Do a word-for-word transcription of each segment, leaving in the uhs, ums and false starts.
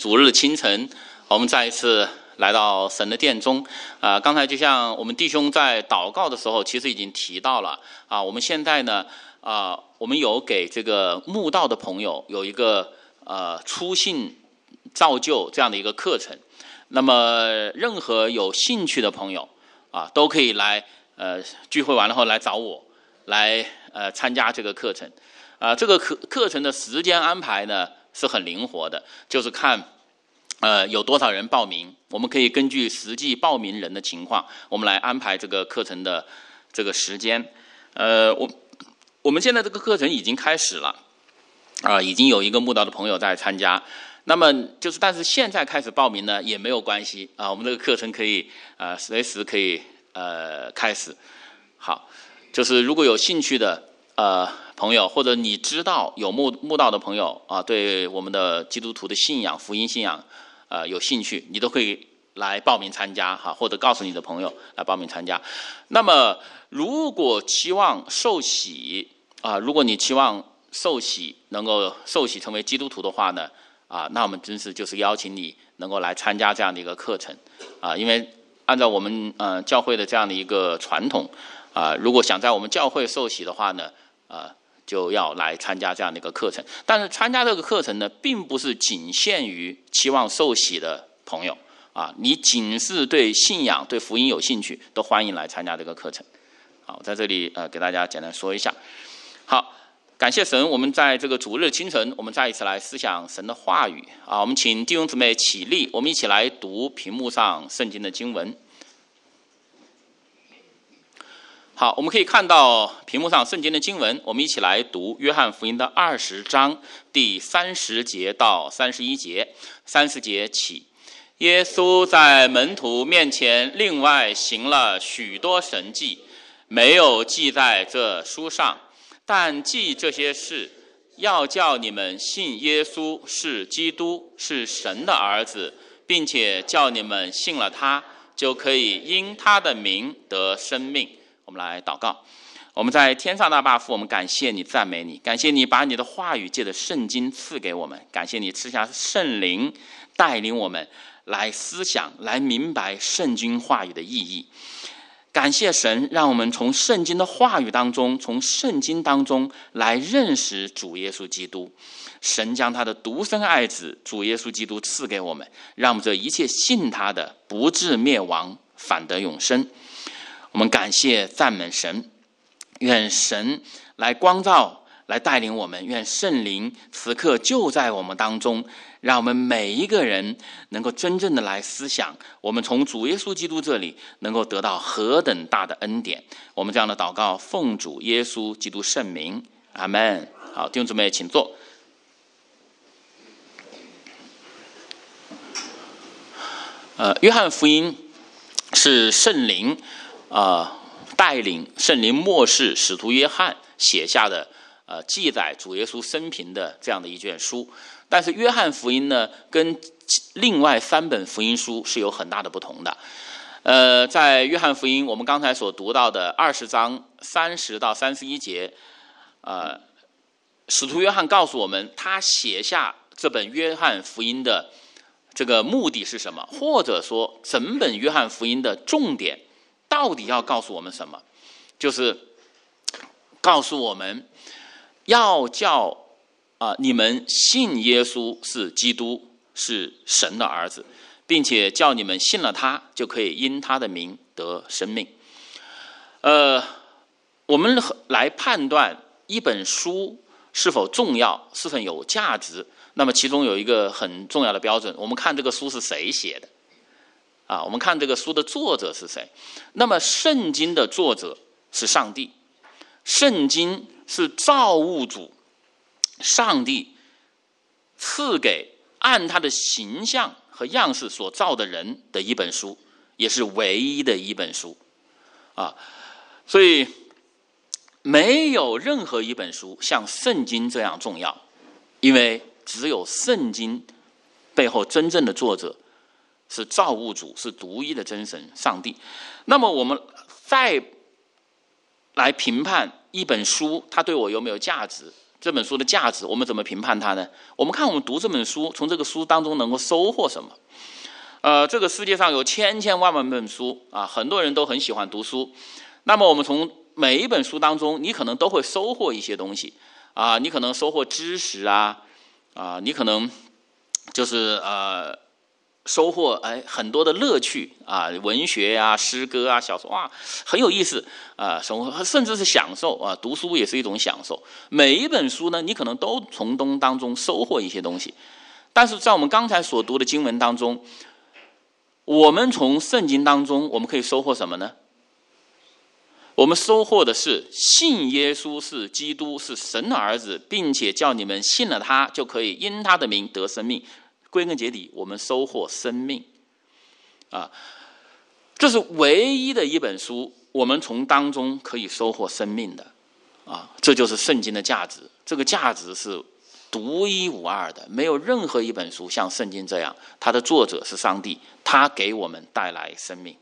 主日清晨，我们再一次来到神的殿中。啊、呃，刚才就像我们弟兄在祷告的时候，其实已经提到了啊、呃，我们现在呢，啊、呃，我们有给这个慕道的朋友有一个呃初信造就这样的一个课程。那么，任何有兴趣的朋友啊，都可以来呃聚会完了后来找我，来呃参加这个课程。啊、呃，这个课课程的时间安排呢是很灵活的，就是看呃有多少人报名，我们可以根据实际报名人的情况，我们来安排这个课程的这个时间。呃，我我们现在这个课程已经开始了，啊、呃，已经有一个慕道的朋友在参加。那么就是，但是现在开始报名呢也没有关系啊，我们这个课程可以呃随时可以呃开始。好，就是如果有兴趣的呃朋友，或者你知道有慕慕道的朋友啊，对我们的基督徒的信仰、福音信仰呃有兴趣，你都可以来报名参加哈，或者告诉你的朋友来报名参加。那么如果期望受洗啊，如果你期望受洗能够受洗成为基督徒的话呢？啊，那我们真是就是邀请你能够来参加这样的一个课程，啊，因为按照我们呃教会的这样的一个传统，啊，如果想在我们教会受洗的话呢，啊，就要来参加这样的一个课程。但是参加这个课程呢，并不是仅限于期望受洗的朋友，啊，你仅是对信仰、对福音有兴趣，都欢迎来参加这个课程。好，在这里呃给大家简单说一下。好。感谢神，我们在这个主日清晨，我们再一次来思想神的话语啊！我们请弟兄姊妹起立，我们一起来读屏幕上圣经的经文。好，我们可以看到屏幕上圣经的经文，我们一起来读约翰福音的二十章第三十节到三十一节。三十节起，耶稣在门徒面前另外行了许多神迹，没有记在这书上。但记这些事，要叫你们信耶稣是基督，是神的儿子，并且叫你们信了他，就可以因他的名得生命。我们来祷告。我们在天上大爸父，我们感谢你，赞美你，感谢你把你的话语借着圣经赐给我们，感谢你赐下圣灵带领我们来思想，来明白圣经话语的意义。感谢神，让我们从圣经的话语当中，从圣经当中来认识主耶稣基督。神将他的独生爱子主耶稣基督赐给我们，让我们这一切信他的不至灭亡，反得永生。我们感谢赞美神，愿神来光照，来带领我们，愿圣灵此刻就在我们当中，让我们每一个人能够真正的来思想，我们从主耶稣基督这里能够得到何等大的恩典。我们这样的祷告奉主耶稣基督圣名，阿们。好，弟兄姊妹请坐。呃，约翰福音是圣灵呃带领，圣灵默示使徒约翰写下的呃记载主耶稣生平的这样的一卷书。但是约翰福音呢，跟另外三本福音书是有很大的不同的。呃，在约翰福音，我们刚才所读到的二十章三十到三十一节，呃，使徒约翰告诉我们，他写下这本约翰福音的这个目的是什么，或者说整本约翰福音的重点到底要告诉我们什么？就是告诉我们要叫啊、呃，你们信耶稣是基督，是神的儿子，并且叫你们信了他，就可以因他的名得生命。呃，我们来判断一本书是否重要，是否有价值，那么其中有一个很重要的标准，我们看这个书是谁写的啊？我们看这个书的作者是谁？那么圣经的作者是上帝，圣经是造物主上帝赐给按他的形象和样式所造的人的一本书，也是唯一的一本书啊。所以没有任何一本书像圣经这样重要，因为只有圣经背后真正的作者是造物主，是独一的真神上帝。那么我们再来评判一本书它对我有没有价值， 这本书的价值，我们怎么评判它呢？我们看我们读这本书，从这个书当中能够收获什么？呃，这个世界上有千千万万本书啊，很多人都很喜欢读书。那么我们从每一本书当中，你可能都会收获一些东西啊，你可能收获知识啊，啊，你可能就是呃收获哎很多的乐趣啊，文学啊、诗歌啊、小说啊，很有意思啊，甚至是享受啊，读书也是一种享受。每一本书呢，你可能都从中当中收获一些东西，但是在我们刚才所读的经文当中，我们从圣经当中我们可以收获什么呢？我们收获的是信耶稣是基督，是神的儿子，并且叫你们信了他，就可以因他的名得生命。归根结底，我们收获生命啊，这是唯一的一本书，我们从当中可以收获生命的啊，这就是圣经的价值。这个价值是独一无二的，没有任何一本书像圣经这样，它的作者是上帝，他给我们带来生命。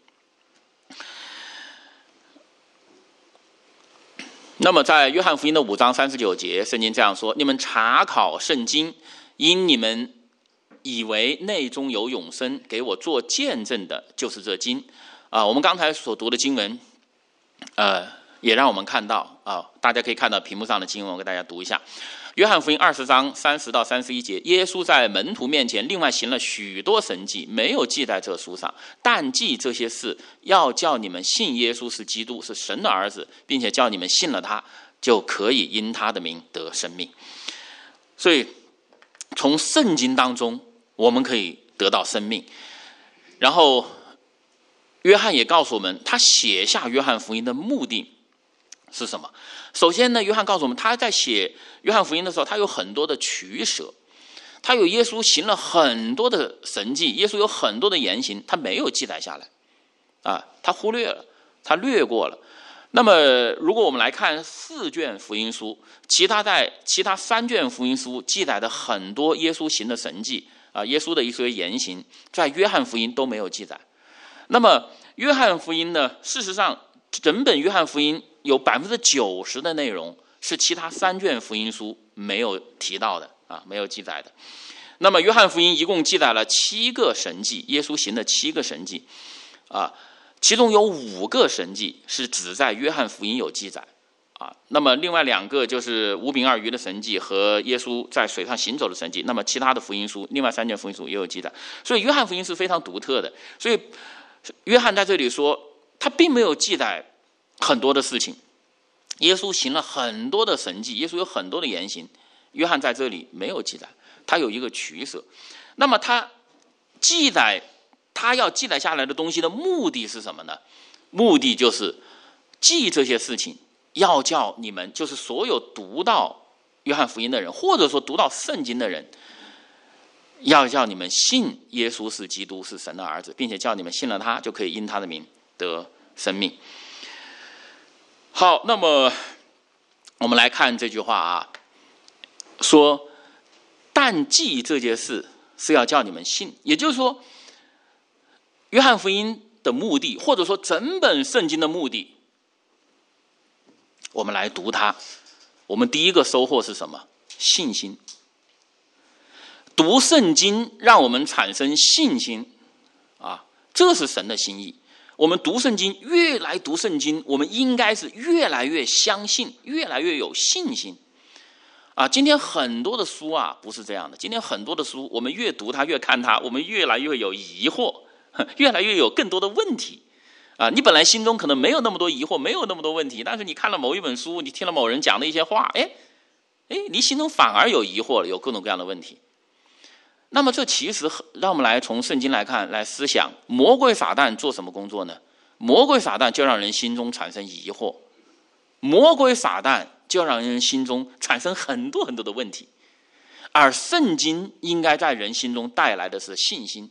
那么在约翰福音的五章三十九节，圣经这样说：你们查考圣经，因你们以为内中有永生，给我做见证的就是这经啊。我们刚才所读的经文呃，也让我们看到啊，大家可以看到屏幕上的经文，我给大家读一下。约翰福音二十章三十到三十一节，耶稣在门徒面前另外行了许多神迹，没有记在这书上，但记这些事，要叫你们信耶稣是基督，是神的儿子，并且叫你们信了他，就可以因他的名得生命。所以从圣经当中我们可以得到生命。然后约翰也告诉我们，他写下约翰福音的目的是什么？首先呢，约翰告诉我们，他在写约翰福音的时候，他有很多的取舍，他有耶稣行了很多的神迹，耶稣有很多的言行，他没有记载下来啊，他忽略了，他略过了。那么如果我们来看四卷福音书，其他在其他三卷福音书记载的很多耶稣行的神迹啊，耶稣的一些言行，在约翰福音都没有记载。那么约翰福音呢，事实上整本约翰福音有百分之九十的内容是其他三卷福音书没有提到的啊，没有记载的。那么约翰福音一共记载了七个神迹，耶稣行的七个神迹啊，其中有五个神迹是只在约翰福音有记载啊。那么另外两个就是五饼二鱼的神迹和耶稣在水上行走的神迹，那么其他的福音书，另外三卷福音书也有记载。所以约翰福音是非常独特的。所以约翰在这里说，他并没有记载很多的事情，耶稣行了很多的神迹，耶稣有很多的言行，约翰在这里没有记载，他有一个取舍。那么他记载他要记载下来的东西的目的是什么呢？目的就是记这些事情，要叫你们，就是所有读到约翰福音的人，或者说读到圣经的人，要叫你们信耶稣是基督，是神的儿子，并且叫你们信了他，就可以因他的名得生命。好，那么我们来看这句话啊，说但记这件事是要叫你们信，也就是说约翰福音的目的，或者说整本圣经的目的，我们来读它，我们第一个收获是什么？信心。读圣经让我们产生信心啊，这是神的心意。我们读圣经，越来读圣经，我们应该是越来越相信，越来越有信心啊。今天很多的书啊不是这样的，今天很多的书我们越读它越看它，我们越来越有疑惑，越来越有更多的问题啊。你本来心中可能没有那么多疑惑，没有那么多问题，但是你看了某一本书，你听了某人讲的一些话，哎哎，你心中反而有疑惑了，有各种各样的问题。那么这其实让我们来从圣经来看，来思想魔鬼撒旦做什么工作呢？魔鬼撒旦就让人心中产生疑惑，魔鬼撒旦就让人心中产生很多很多的问题，而圣经应该在人心中带来的是信心。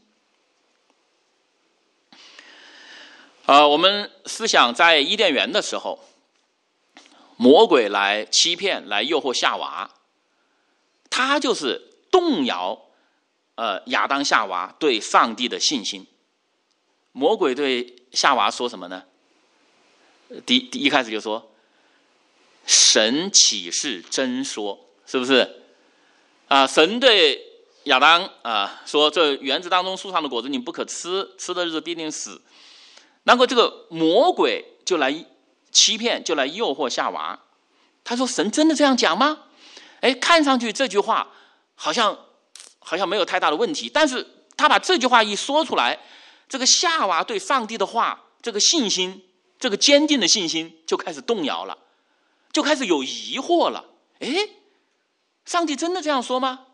呃，我们思想在伊甸园的时候，魔鬼来欺骗，来诱惑夏娃，他就是动摇呃，亚当夏娃对上帝的信心。魔鬼对夏娃说什么呢？第第一开始就说，神岂是真说是不是？啊，神对亚当啊说：“这园子当中树上的果子你不可吃，吃的日子必定死。”然后这个魔鬼就来欺骗，就来诱惑夏娃。他说：“神真的这样讲吗？”哎，看上去这句话好像好像没有太大的问题，但是他把这句话一说出来，这个夏娃对上帝的话，这个信心，这个坚定的信心就开始动摇了，就开始有疑惑了。哎，上帝真的这样说吗？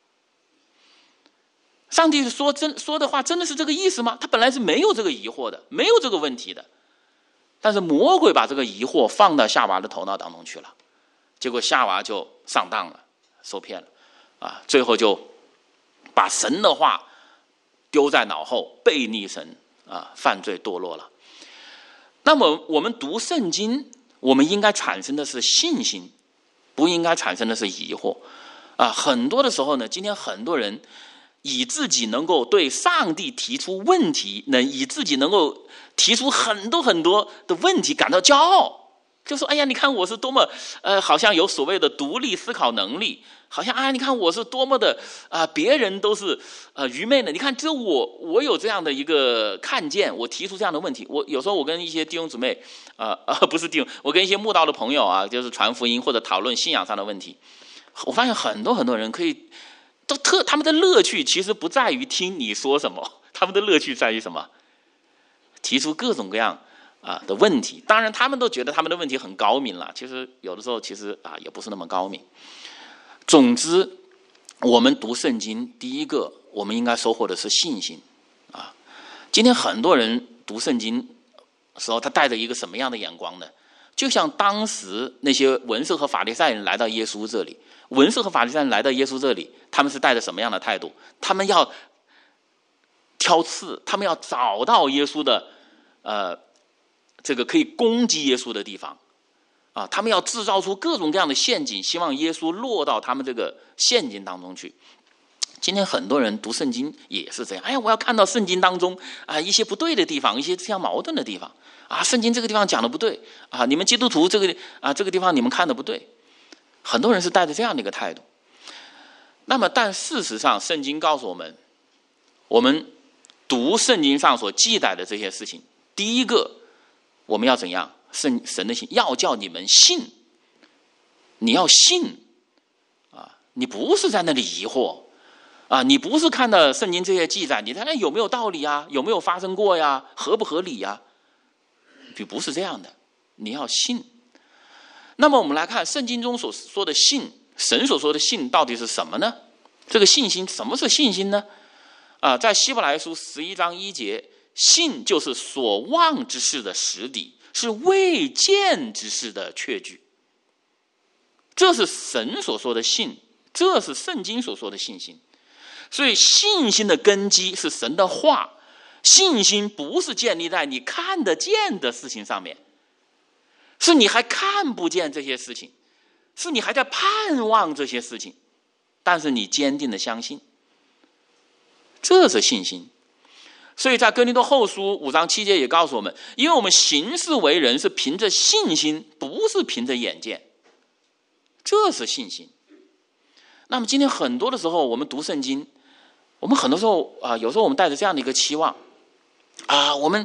上帝说真说的话真的是这个意思吗？他本来是没有这个疑惑的，没有这个问题的，但是魔鬼把这个疑惑放到夏娃的头脑当中去了，结果夏娃就上当了，受骗了啊！最后就把神的话丢在脑后，背逆神啊，犯罪堕落了。那么我们读圣经，我们应该产生的是信心，不应该产生的是疑惑啊！很多的时候呢，今天很多人以自己能够对上帝提出问题，能以自己能够提出很多很多的问题感到骄傲，就说：“哎呀，你看我是多么呃，好像有所谓的独立思考能力，好像啊，你看我是多么的啊、呃，别人都是呃愚昧的。你看，只有我我有这样的一个看见，我提出这样的问题。我有时候我跟一些弟兄姊妹啊啊、呃，不是弟兄，我跟一些慕道的朋友啊，就是传福音或者讨论信仰上的问题，我发现很多很多人可以。”都特他们的乐趣其实不在于听你说什么，他们的乐趣在于什么？提出各种各样啊的问题。当然，他们都觉得他们的问题很高明了，其实有的时候其实啊也不是那么高明。总之，我们读圣经，第一个我们应该收获的是信心啊。今天很多人读圣经的时候，他带着一个什么样的眼光呢？就像当时那些文士和法利赛人来到耶稣这里。文士和法利赛人来到耶稣这里，他们是带着什么样的态度？他们要挑刺，他们要找到耶稣的呃这个可以攻击耶稣的地方啊，他们要制造出各种各样的陷阱，希望耶稣落到他们这个陷阱当中去。今天很多人读圣经也是这样，哎呀，我要看到圣经当中啊一些不对的地方，一些相矛盾的地方啊，圣经这个地方讲的不对啊，你们基督徒这个啊这个地方你们看的不对。很多人是带着这样的一个态度。那么但事实上圣经告诉我们，我们读圣经上所记载的这些事情，第一个我们要怎样？圣神的信要叫你们信，你要信啊，你不是在那里疑惑啊，你不是看到圣经这些记载，你在那有没有道理啊？有没有发生过呀？合不合理呀？你不是这样的，你要信。那么我们来看圣经中所说的信，神所说的信到底是什么呢？这个信心，什么是信心呢？啊，在希伯来书十一章一节，信就是所望之事的实底，是未见之事的确据。这是神所说的信，这是圣经所说的信心。所以信心的根基是神的话，信心不是建立在你看得见的事情上面，是你还看不见这些事情，是你还在盼望这些事情，但是你坚定的相信，这是信心。所以在哥林多后书五章七节也告诉我们，因为我们行事为人是凭着信心，不是凭着眼见，这是信心。那么今天很多的时候我们读圣经，我们很多时候啊、呃，有时候我们带着这样的一个期望啊、呃，我们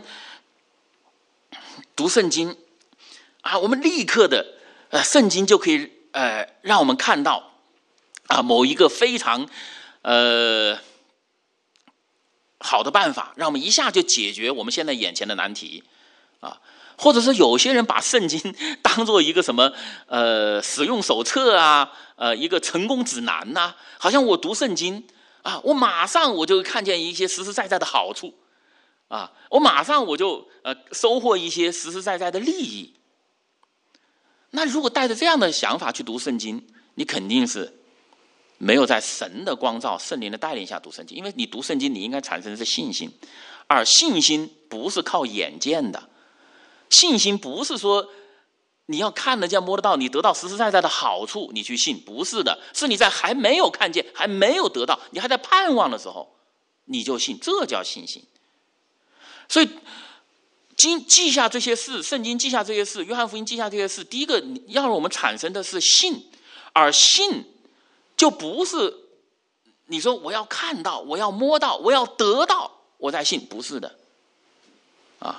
读圣经啊，我们立刻的呃，圣经就可以呃让我们看到啊某一个非常呃好的办法，让我们一下就解决我们现在眼前的难题啊，或者是有些人把圣经当做一个什么呃使用手册啊，呃一个成功指南呐、啊，好像我读圣经啊，我马上我就看见一些实实在在的好处啊，我马上我就呃收获一些实实在在的利益。那如果带着这样的想法去读圣经，你肯定是没有在神的光照、圣灵的带领下读圣经，因为你读圣经，你应该产生的是信心，而信心不是靠眼见的，信心不是说你要看得见、摸得到，你得到实实在在的好处，你去信，不是的，是你在还没有看见、还没有得到，你还在盼望的时候，你就信，这叫信心。所以记记下这些事，圣经记下这些事，约翰福音记下这些事，第一个要让我们产生的是信，而信就不是你说我要看到，我要摸到，我要得到，我才信，不是的，啊。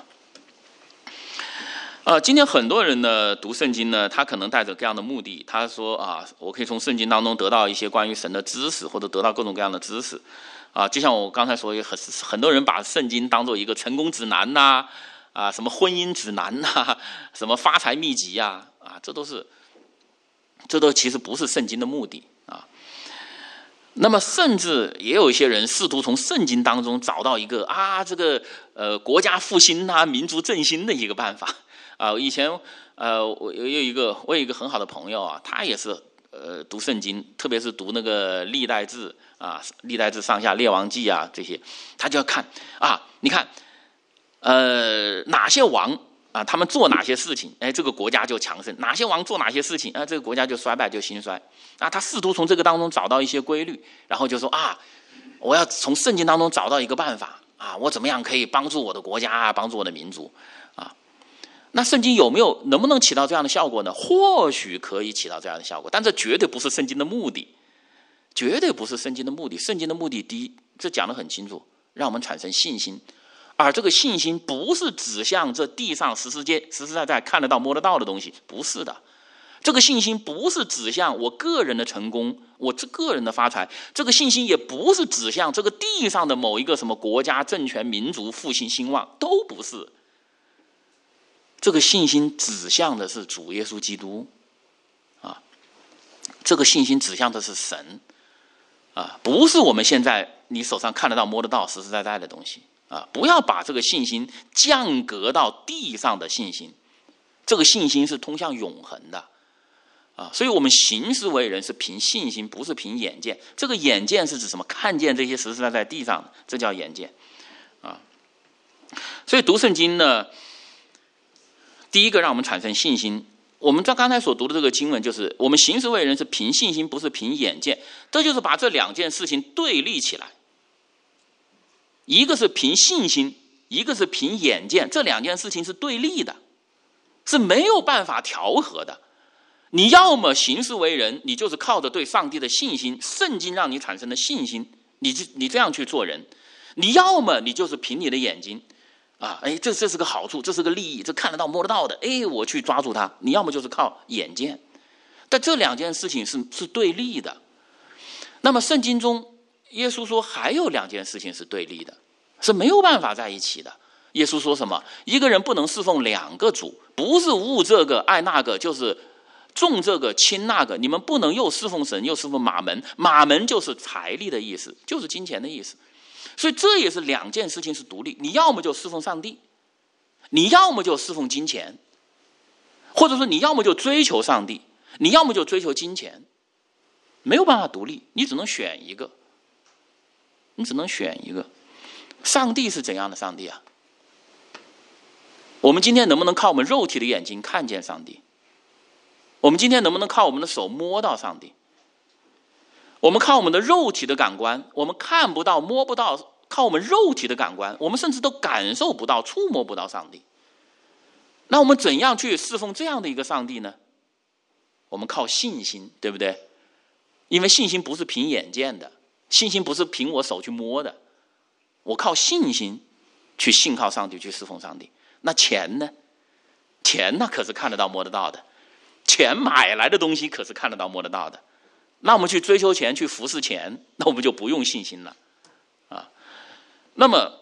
呃，今天很多人呢读圣经呢，他可能带着这样的目的，他说啊，我可以从圣经当中得到一些关于神的知识，或者得到各种各样的知识，啊，就像我刚才说，很很多人把圣经当做一个成功指南呐、啊，啊，什么婚姻指南呐、啊，什么发财秘籍呀、啊，啊，这都是，这都其实不是圣经的目的啊。那么，甚至也有一些人试图从圣经当中找到一个啊，这个呃国家复兴啊、民族振兴的一个办法。啊，以前呃，我有一个我有一个很好的朋友啊，他也是呃读圣经，特别是读那个历代志啊、历代志上下、列王记啊这些，他就要看啊，你看呃哪些王啊，他们做哪些事情，哎，这个国家就强盛；哪些王做哪些事情，啊，这个国家就衰败，就兴衰。啊，他试图从这个当中找到一些规律，然后就说啊，我要从圣经当中找到一个办法啊，我怎么样可以帮助我的国家啊，帮助我的民族啊。那圣经有没有能不能起到这样的效果呢？或许可以起到这样的效果，但这绝对不是圣经的目的，绝对不是圣经的目的。圣经的目的，第一，这讲得很清楚，让我们产生信心，而这个信心不是指向这地上实实界实实在在看得到摸得到的东西，不是的。这个信心不是指向我个人的成功，我这个人的发财，这个信心也不是指向这个地上的某一个什么国家、政权、民族复兴兴旺，都不是。这个信心指向的是主耶稣基督，啊，这个信心指向的是神，啊，不是我们现在你手上看得到、摸得到、实实在在的东西，啊，不要把这个信心降格到地上的信心，这个信心是通向永恒的，啊，所以我们行事为人是凭信心，不是凭眼见。这个眼见是指什么？看见这些实实在在地上的，这叫眼见，啊，所以读圣经呢。第一个让我们产生信心，我们在刚才所读的这个经文就是我们行事为人是凭信心，不是凭眼见，这就是把这两件事情对立起来，一个是凭信心，一个是凭眼见，这两件事情是对立的，是没有办法调和的。你要么行事为人，你就是靠着对上帝的信心，圣经让你产生的信心，你你这样去做人；你要么你就是凭你的眼睛啊，哎，这这是个好处，这是个利益，这看得到摸得到的，哎，我去抓住它。你要么就是靠眼见，但这两件事情是是对立的。那么圣经中，耶稣说还有两件事情是对立的，是没有办法在一起的。耶稣说什么？一个人不能侍奉两个主，不是恶这个爱那个，就是重这个轻那个。你们不能又侍奉神又侍奉马门，马门就是财力的意思，就是金钱的意思。所以这也是两件事情是独立，你要么就侍奉上帝，你要么就侍奉金钱，或者说你要么就追求上帝，你要么就追求金钱，没有办法独立，你只能选一个，你只能选一个。上帝是怎样的上帝啊？我们今天能不能靠我们肉体的眼睛看见上帝？我们今天能不能靠我们的手摸到上帝？我们靠我们的肉体的感官，我们看不到摸不到，靠我们肉体的感官，我们甚至都感受不到触摸不到上帝。那我们怎样去侍奉这样的一个上帝呢？我们靠信心，对不对？因为信心不是凭眼见的，信心不是凭我手去摸的，我靠信心去信靠上帝，去侍奉上帝。那钱呢？钱那可是看得到摸得到的，钱买来的东西可是看得到摸得到的。那我们去追求钱，去服侍钱，那我们就不用信心了啊。那么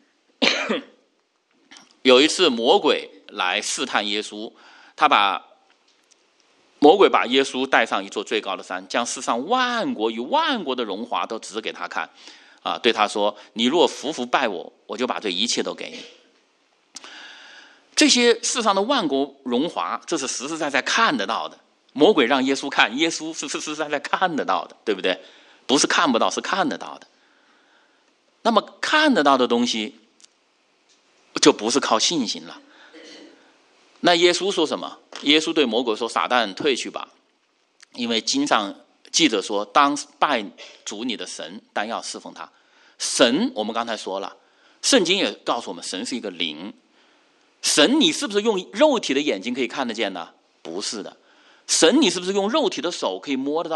有一次魔鬼来试探耶稣，他把魔鬼把耶稣带上一座最高的山，将世上万国与万国的荣华都指给他看啊，对他说：你若服服拜我，我就把这一切都给你。这些世上的万国荣华，这是实实在在看得到的。魔鬼让耶稣看，耶稣是实实在在看得到的，对不对？不是看不到，是看得到的。那么看得到的东西就不是靠信心了。那耶稣说什么？耶稣对魔鬼说：撒旦退去吧，因为经上记着说，当拜主你的神，但要侍奉他。神我们刚才说了，圣经也告诉我们，神是一个灵。神你是不是用肉体的眼睛可以看得见呢？不是的。神你是不是用肉体的手可以摸得到啊？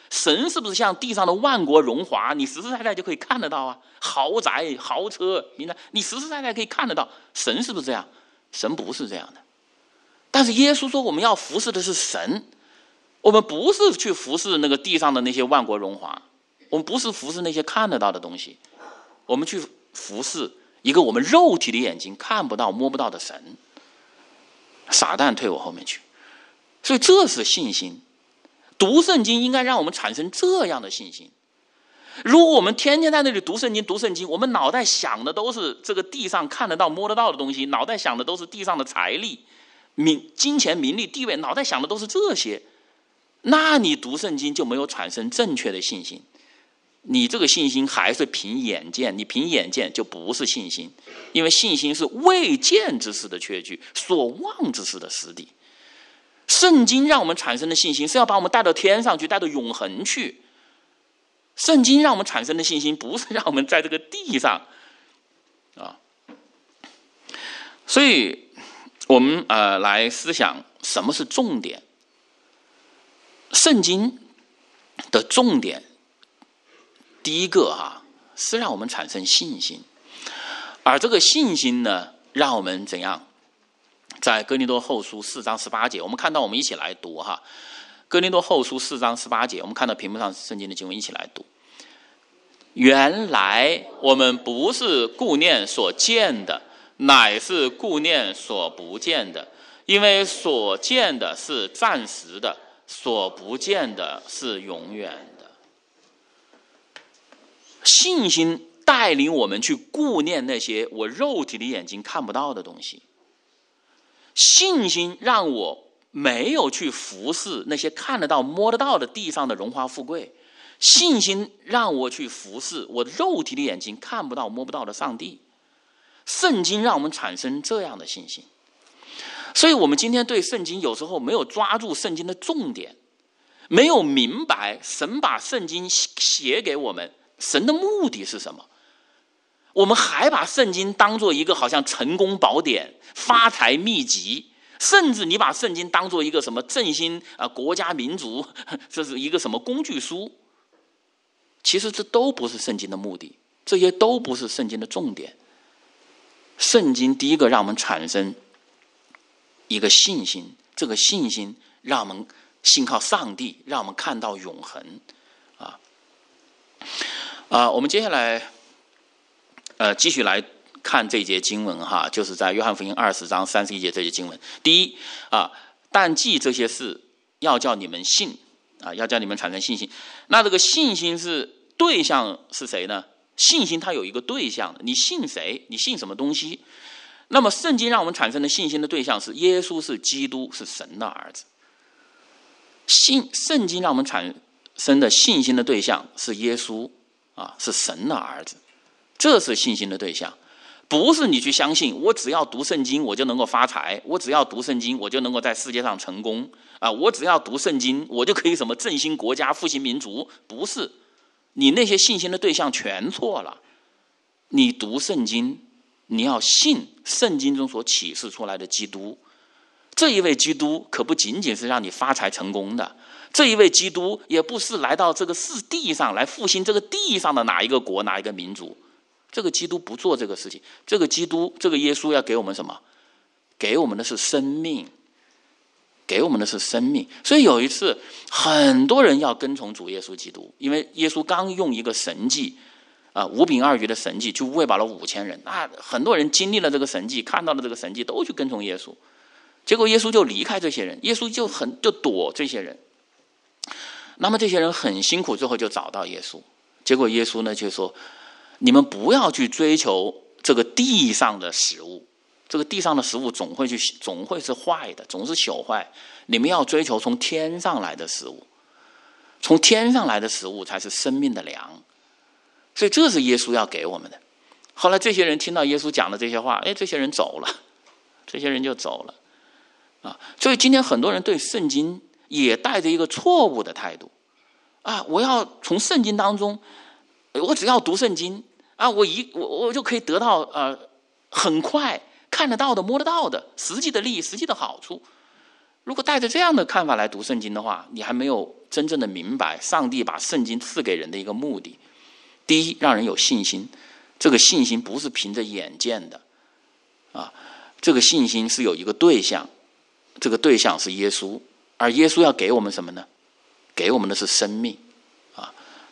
神是不是像地上的万国荣华，你实实在在就可以看得到啊？豪宅、豪车，你你实实在在可以看得到。神是不是这样？神不是这样的。但是耶稣说，我们要服侍的是神，我们不是去服侍那个地上的那些万国荣华，我们不是服侍那些看得到的东西，我们去服侍一个我们肉体的眼睛看不到、摸不到的神。撒旦退我后面去。所以这是信心。读圣经应该让我们产生这样的信心。如果我们天天在那里读圣经读圣经，我们脑袋想的都是这个地上看得到摸得到的东西，脑袋想的都是地上的财力、名金钱、名利、地位，脑袋想的都是这些，那你读圣经就没有产生正确的信心。你这个信心还是凭眼见，你凭眼见就不是信心，因为信心是未见之事的确据，所望之事的实底。圣经让我们产生的信心是要把我们带到天上去，带到永恒去。圣经让我们产生的信心不是让我们在这个地上啊。所以我们呃来思想什么是重点。圣经的重点第一个哈、啊、是让我们产生信心，而这个信心呢，让我们怎样？在哥林多后书四章十八节，我们看到，我们一起来读哈。哥林多后书四章十八节，我们看到屏幕上圣经的经文，一起来读。原来我们不是顾念所见的，乃是顾念所不见的，因为所见的是暂时的，所不见的是永远的。信心带领我们去顾念那些我肉体的眼睛看不到的东西。信心让我没有去服侍那些看得到摸得到的地上的荣华富贵，信心让我去服侍我肉体的眼睛看不到摸不到的上帝。圣经让我们产生这样的信心。所以我们今天对圣经有时候没有抓住圣经的重点，没有明白神把圣经写给我们，神的目的是什么。我们还把圣经当作一个好像成功宝典、发财秘籍，甚至你把圣经当作一个什么振兴啊国家民族，这是一个什么工具书。其实这都不是圣经的目的，这些都不是圣经的重点。圣经第一个让我们产生一个信心，这个信心让我们信靠上帝，让我们看到永恒啊啊！我们接下来呃继续来看这节经文哈，就是在约翰福音二十章三十一节这节经文。第一啊，但记这些事，要叫你们信啊，要叫你们产生信心。那这个信心是对象是谁呢？信心它有一个对象，你信谁？你信什么东西？那么圣经让我们产生的信心的对象是耶稣，是基督，是神的儿子。信圣经让我们产生的信心的对象是耶稣啊，是神的儿子，这是信心的对象。不是你去相信我只要读圣经我就能够发财，我只要读圣经我就能够在世界上成功啊，我只要读圣经我就可以什么振兴国家复兴民族。不是，你那些信心的对象全错了。你读圣经，你要信圣经中所启示出来的基督。这一位基督可不仅仅是让你发财成功的，这一位基督也不是来到这个世地上来复兴这个地上的哪一个国哪一个民族。这个基督不做这个事情，这个基督这个耶稣要给我们什么？给我们的是生命，给我们的是生命。所以有一次很多人要跟从主耶稣基督，因为耶稣刚用一个神迹啊，五饼二鱼的神迹去喂饱了五千人，那很多人经历了这个神迹，看到了这个神迹，都去跟从耶稣。结果耶稣就离开这些人，耶稣就很就躲这些人。那么这些人很辛苦，最后就找到耶稣。结果耶稣呢就说，你们不要去追求这个地上的食物，这个地上的食物总会去总会是坏的，总是朽坏。你们要追求从天上来的食物，从天上来的食物才是生命的粮。所以这是耶稣要给我们的。后来这些人听到耶稣讲的这些话，哎，这些人走了，这些人就走了啊。所以今天很多人对圣经也带着一个错误的态度啊，我要从圣经当中，我只要读圣经啊，我一我我就可以得到呃很快看得到的摸得到的实际的利益实际的好处。 如果带着这样的看法来读圣经的话，你还没有真正的明白上帝把圣经赐给人的一个目的。第一，让人有信心，这个信心不是凭着眼见的啊，这个信心是有一个对象，这个对象是耶稣，而耶稣要给我们什么呢？给我们的是生命啊。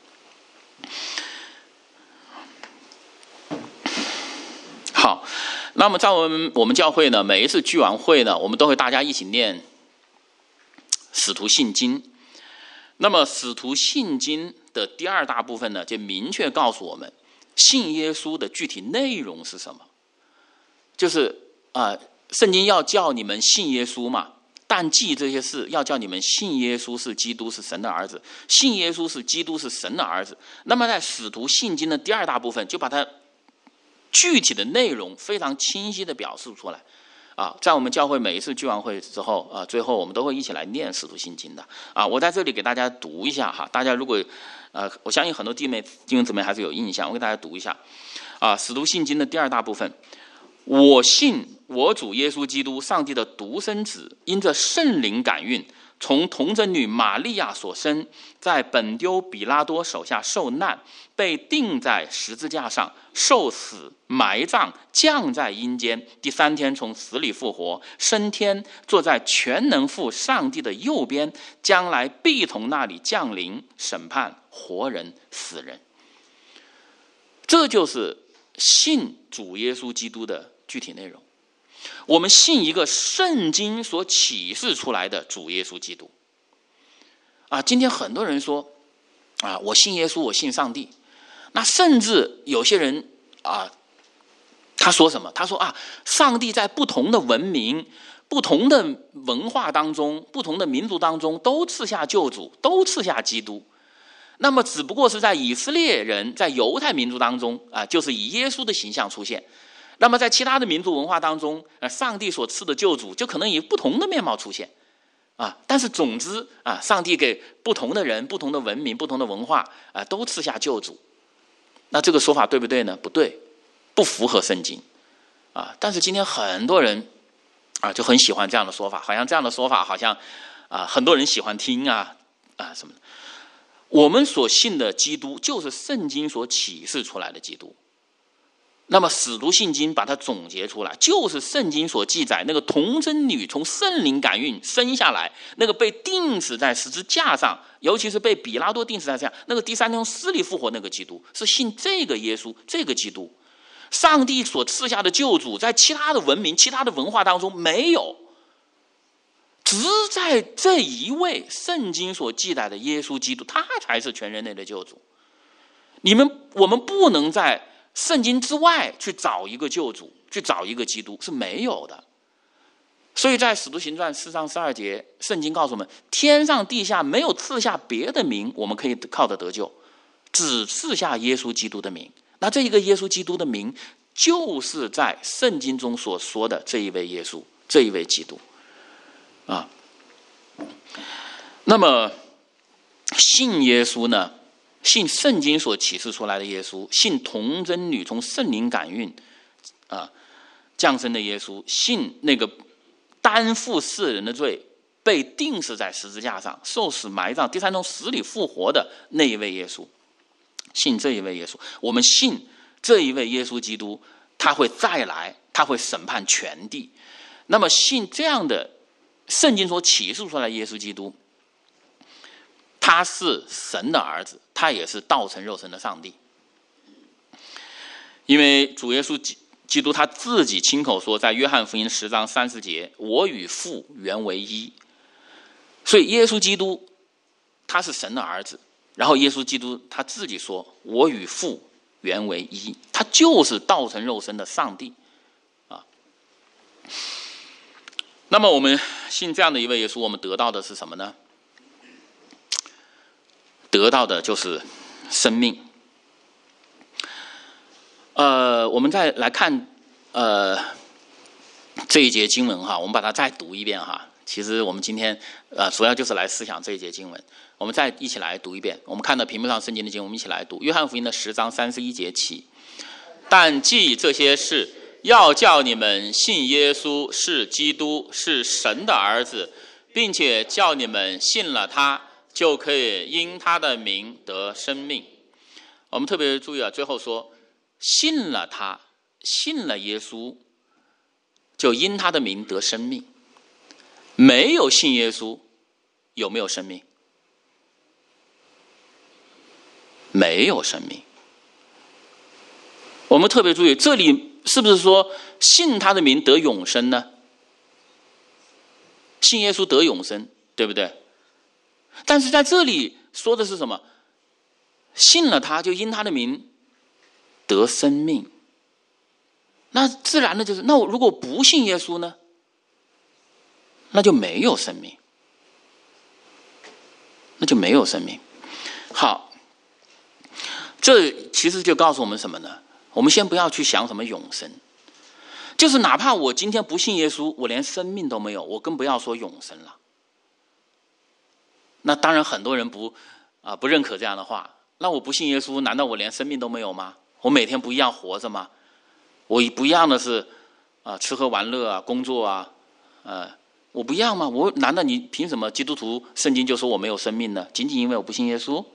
好，那么在我们我们教会呢，每一次聚完会呢，我们都会大家一起念使徒信经。那么使徒信经的第二大部分呢，就明确告诉我们信耶稣的具体内容是什么。就是啊、呃，圣经要叫你们信耶稣嘛，但记这些事要叫你们信耶稣是基督，是神的儿子，信耶稣是基督，是神的儿子。那么在使徒信经的第二大部分，就把它具体的内容非常清晰的表述出来啊。在我们教会每一次聚完会之后啊，最后我们都会一起来念使徒信经的啊。我在这里给大家读一下哈，大家如果呃，我相信很多弟妹弟兄姊妹还是有印象，我给大家读一下啊。使徒信经的第二大部分，我信我主耶稣基督，上帝的独生子，因着圣灵感孕，从童贞女玛利亚所生，在本丢比拉多手下受难，被钉在十字架上，受死，埋葬，降在阴间，第三天从死里复活，升天，坐在全能父上帝的右边，将来必从那里降临，审判活人死人。这就是信主耶稣基督的具体内容。我们信一个圣经所启示出来的主耶稣基督啊。今天很多人说啊，我信耶稣，我信上帝。那甚至有些人啊，他说什么？他说啊，上帝在不同的文明、不同的文化当中、不同的民族当中都赐下救主，都赐下基督。那么只不过是在以色列人、在犹太民族当中啊，就是以耶稣的形象出现。那么在其他的民族文化当中，呃，上帝所赐的救主就可能以不同的面貌出现啊。但是总之啊，上帝给不同的人、不同的文明、不同的文化啊，都赐下救主。那这个说法对不对呢？不对，不符合圣经啊。但是今天很多人啊就很喜欢这样的说法，好像这样的说法好像啊很多人喜欢听啊啊什么的。我们所信的基督就是圣经所启示出来的基督。那么使徒信经把它总结出来，就是圣经所记载那个童贞女从圣灵感孕生下来，那个被钉死在十字架上，尤其是被比拉多钉死在这样，那个第三天从死里复活那个基督，是信这个耶稣，这个基督。上帝所赐下的救主在其他的文明、其他的文化当中没有，只在这一位圣经所记载的耶稣基督，他才是全人类的救主。你们我们不能在圣经之外去找一个救主，去找一个基督，是没有的。所以在使徒行传四章十二节，圣经告诉我们，天上地下没有赐下别的名我们可以靠着得救，只赐下耶稣基督的名。那这一个耶稣基督的名，就是在圣经中所说的这一位耶稣，这一位基督啊。那么信耶稣呢，信圣经所启示出来的耶稣，信童贞女从圣灵感孕啊降生的耶稣，信那个担负世人的罪，被钉死在十字架上，受死埋葬，第三天从死里复活的那一位耶稣，信这一位耶稣，我们信这一位耶稣基督，他会再来，他会审判全地。那么信这样的圣经所启示出来的耶稣基督，他是神的儿子，他也是道成肉身的上帝。因为主耶稣基督他自己亲口说，在约翰福音十章三十节，我与父原为一。所以耶稣基督他是神的儿子，然后耶稣基督他自己说，我与父原为一，他就是道成肉身的上帝啊。那么我们信这样的一位耶稣，我们得到的是什么呢？得到的就是生命。呃，我们再来看呃这一节经文哈，我们把它再读一遍哈。其实我们今天呃主要就是来思想这一节经文，我们再一起来读一遍。我们看到屏幕上圣经的经文，我们一起来读。约翰福音的十章三十一节起，但记这些事，要叫你们信耶稣是基督，是神的儿子， 并且叫你们信了他，就可以因他的名得生命。我们特别注意啊，最后说信了他，信了耶稣，就因他的名得生命。没有信耶稣，有没有生命？没有生命。我们特别注意，这里是不是说信他的名得永生呢？信耶稣得永生，对不对？但是在这里说的是什么？信了他，就因他的名得生命。那自然的就是，那我如果不信耶稣呢？那就没有生命，那就没有生命。好，这其实就告诉我们什么呢？我们先不要去想什么永生，就是哪怕我今天不信耶稣，我连生命都没有，我更不要说永生了。那当然很多人不啊、呃、不认可这样的话。那我不信耶稣，难道我连生命都没有吗？我每天不一样活着吗？我不一样的是啊、呃、吃喝玩乐啊，工作啊，呃我不一样吗？我难道你凭什么基督徒圣经就说我没有生命呢？仅仅因为我不信耶稣？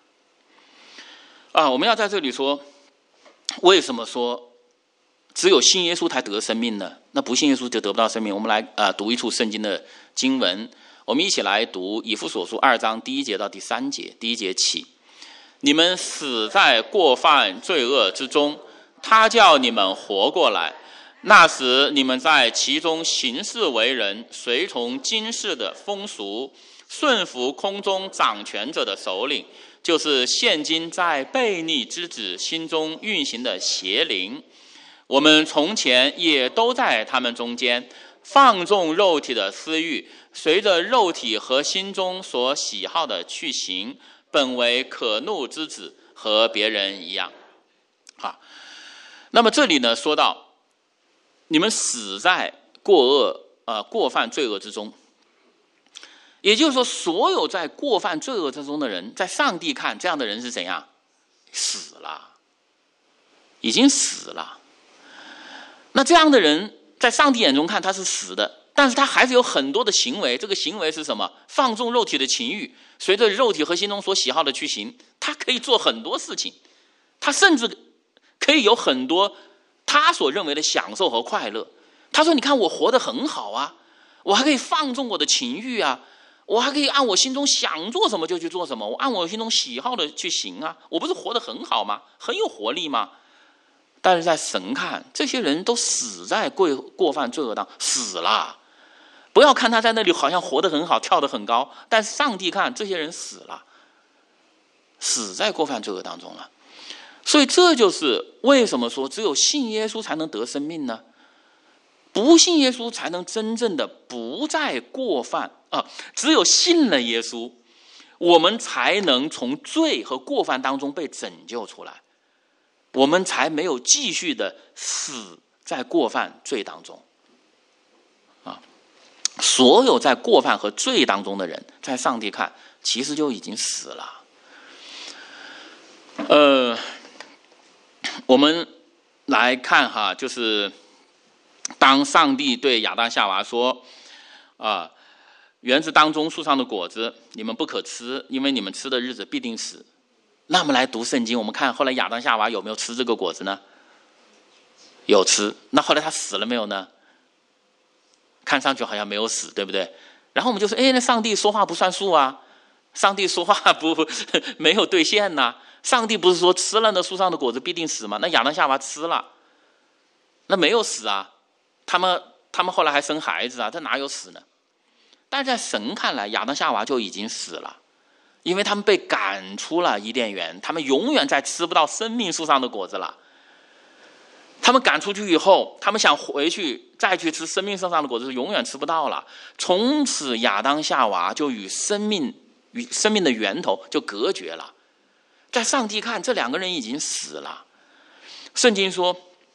啊，我们要在这里说，为什么说只有信耶稣才得生命呢？那不信耶稣就得不到生命。我们来啊、呃、读一处圣经的经文，我们一起来读以弗所书二章第一节到第三节。第一节起，你们死在过犯罪恶之中，他叫你们活过来。那时你们在其中行事为人，随从今世的风俗，顺服空中掌权者的首领，就是现今在悖逆之子心中运行的邪灵。我们从前也都在他们中间，放纵肉体的私欲，随着肉体和心中所喜好的去行，本为可怒之子，和别人一样。啊，那么这里呢说到，你们死在过恶呃过犯罪恶之中，也就是说，所有在过犯罪恶之中的人，在上帝看，这样的人是怎样？死了，已经死了。那这样的人，在上帝眼中看他是死的，但是他还是有很多的行为。这个行为是什么？放纵肉体的情欲，随着肉体和心中所喜好的去行。他可以做很多事情，他甚至可以有很多他所认为的享受和快乐。他说：“你看我活得很好啊，我还可以放纵我的情欲啊，我还可以按我心中想做什么就去做什么，我按我心中喜好的去行啊，我不是活得很好吗？很有活力吗？”但是在神看，这些人都死在过过犯罪恶当，死了。不要看他在那里好像活得很好，跳得很高，但是上帝看这些人死了，死在过犯罪恶当中了。所以这就是为什么说只有信耶稣才能得生命呢？不信耶稣才能真正的不再过犯啊！只有信了耶稣，我们才能从罪和过犯当中被拯救出来，我们才没有继续的死在过犯罪当中啊！所有在过犯和罪当中的人，在上帝看，其实就已经死了。呃，我们来看哈，就是当上帝对亚当夏娃说啊，园子当中树上的果子你们不可吃，因为你们吃的日子必定死。那我们来读圣经，我们看后来亚当夏娃有没有吃这个果子呢？有吃。那后来他死了没有呢？看上去好像没有死，对不对？然后我们就说，哎，那上帝说话不算数啊，上帝说话不没有兑现呐、啊。上帝不是说吃了那树上的果子必定死吗？那亚当夏娃吃了，那没有死啊，他们他们后来还生孩子啊，这哪有死呢？但是在神看来，亚当夏娃就已经死了，因为他们被赶出了伊甸园，他们永远再吃不到生命树上的果子了。他们赶出去以后，他们想回去再去吃生命树上的果子，永远吃不到了。从此亚当夏娃就与生命与生命的源头就隔绝了。在上帝看，这两个人已经死了。圣经说，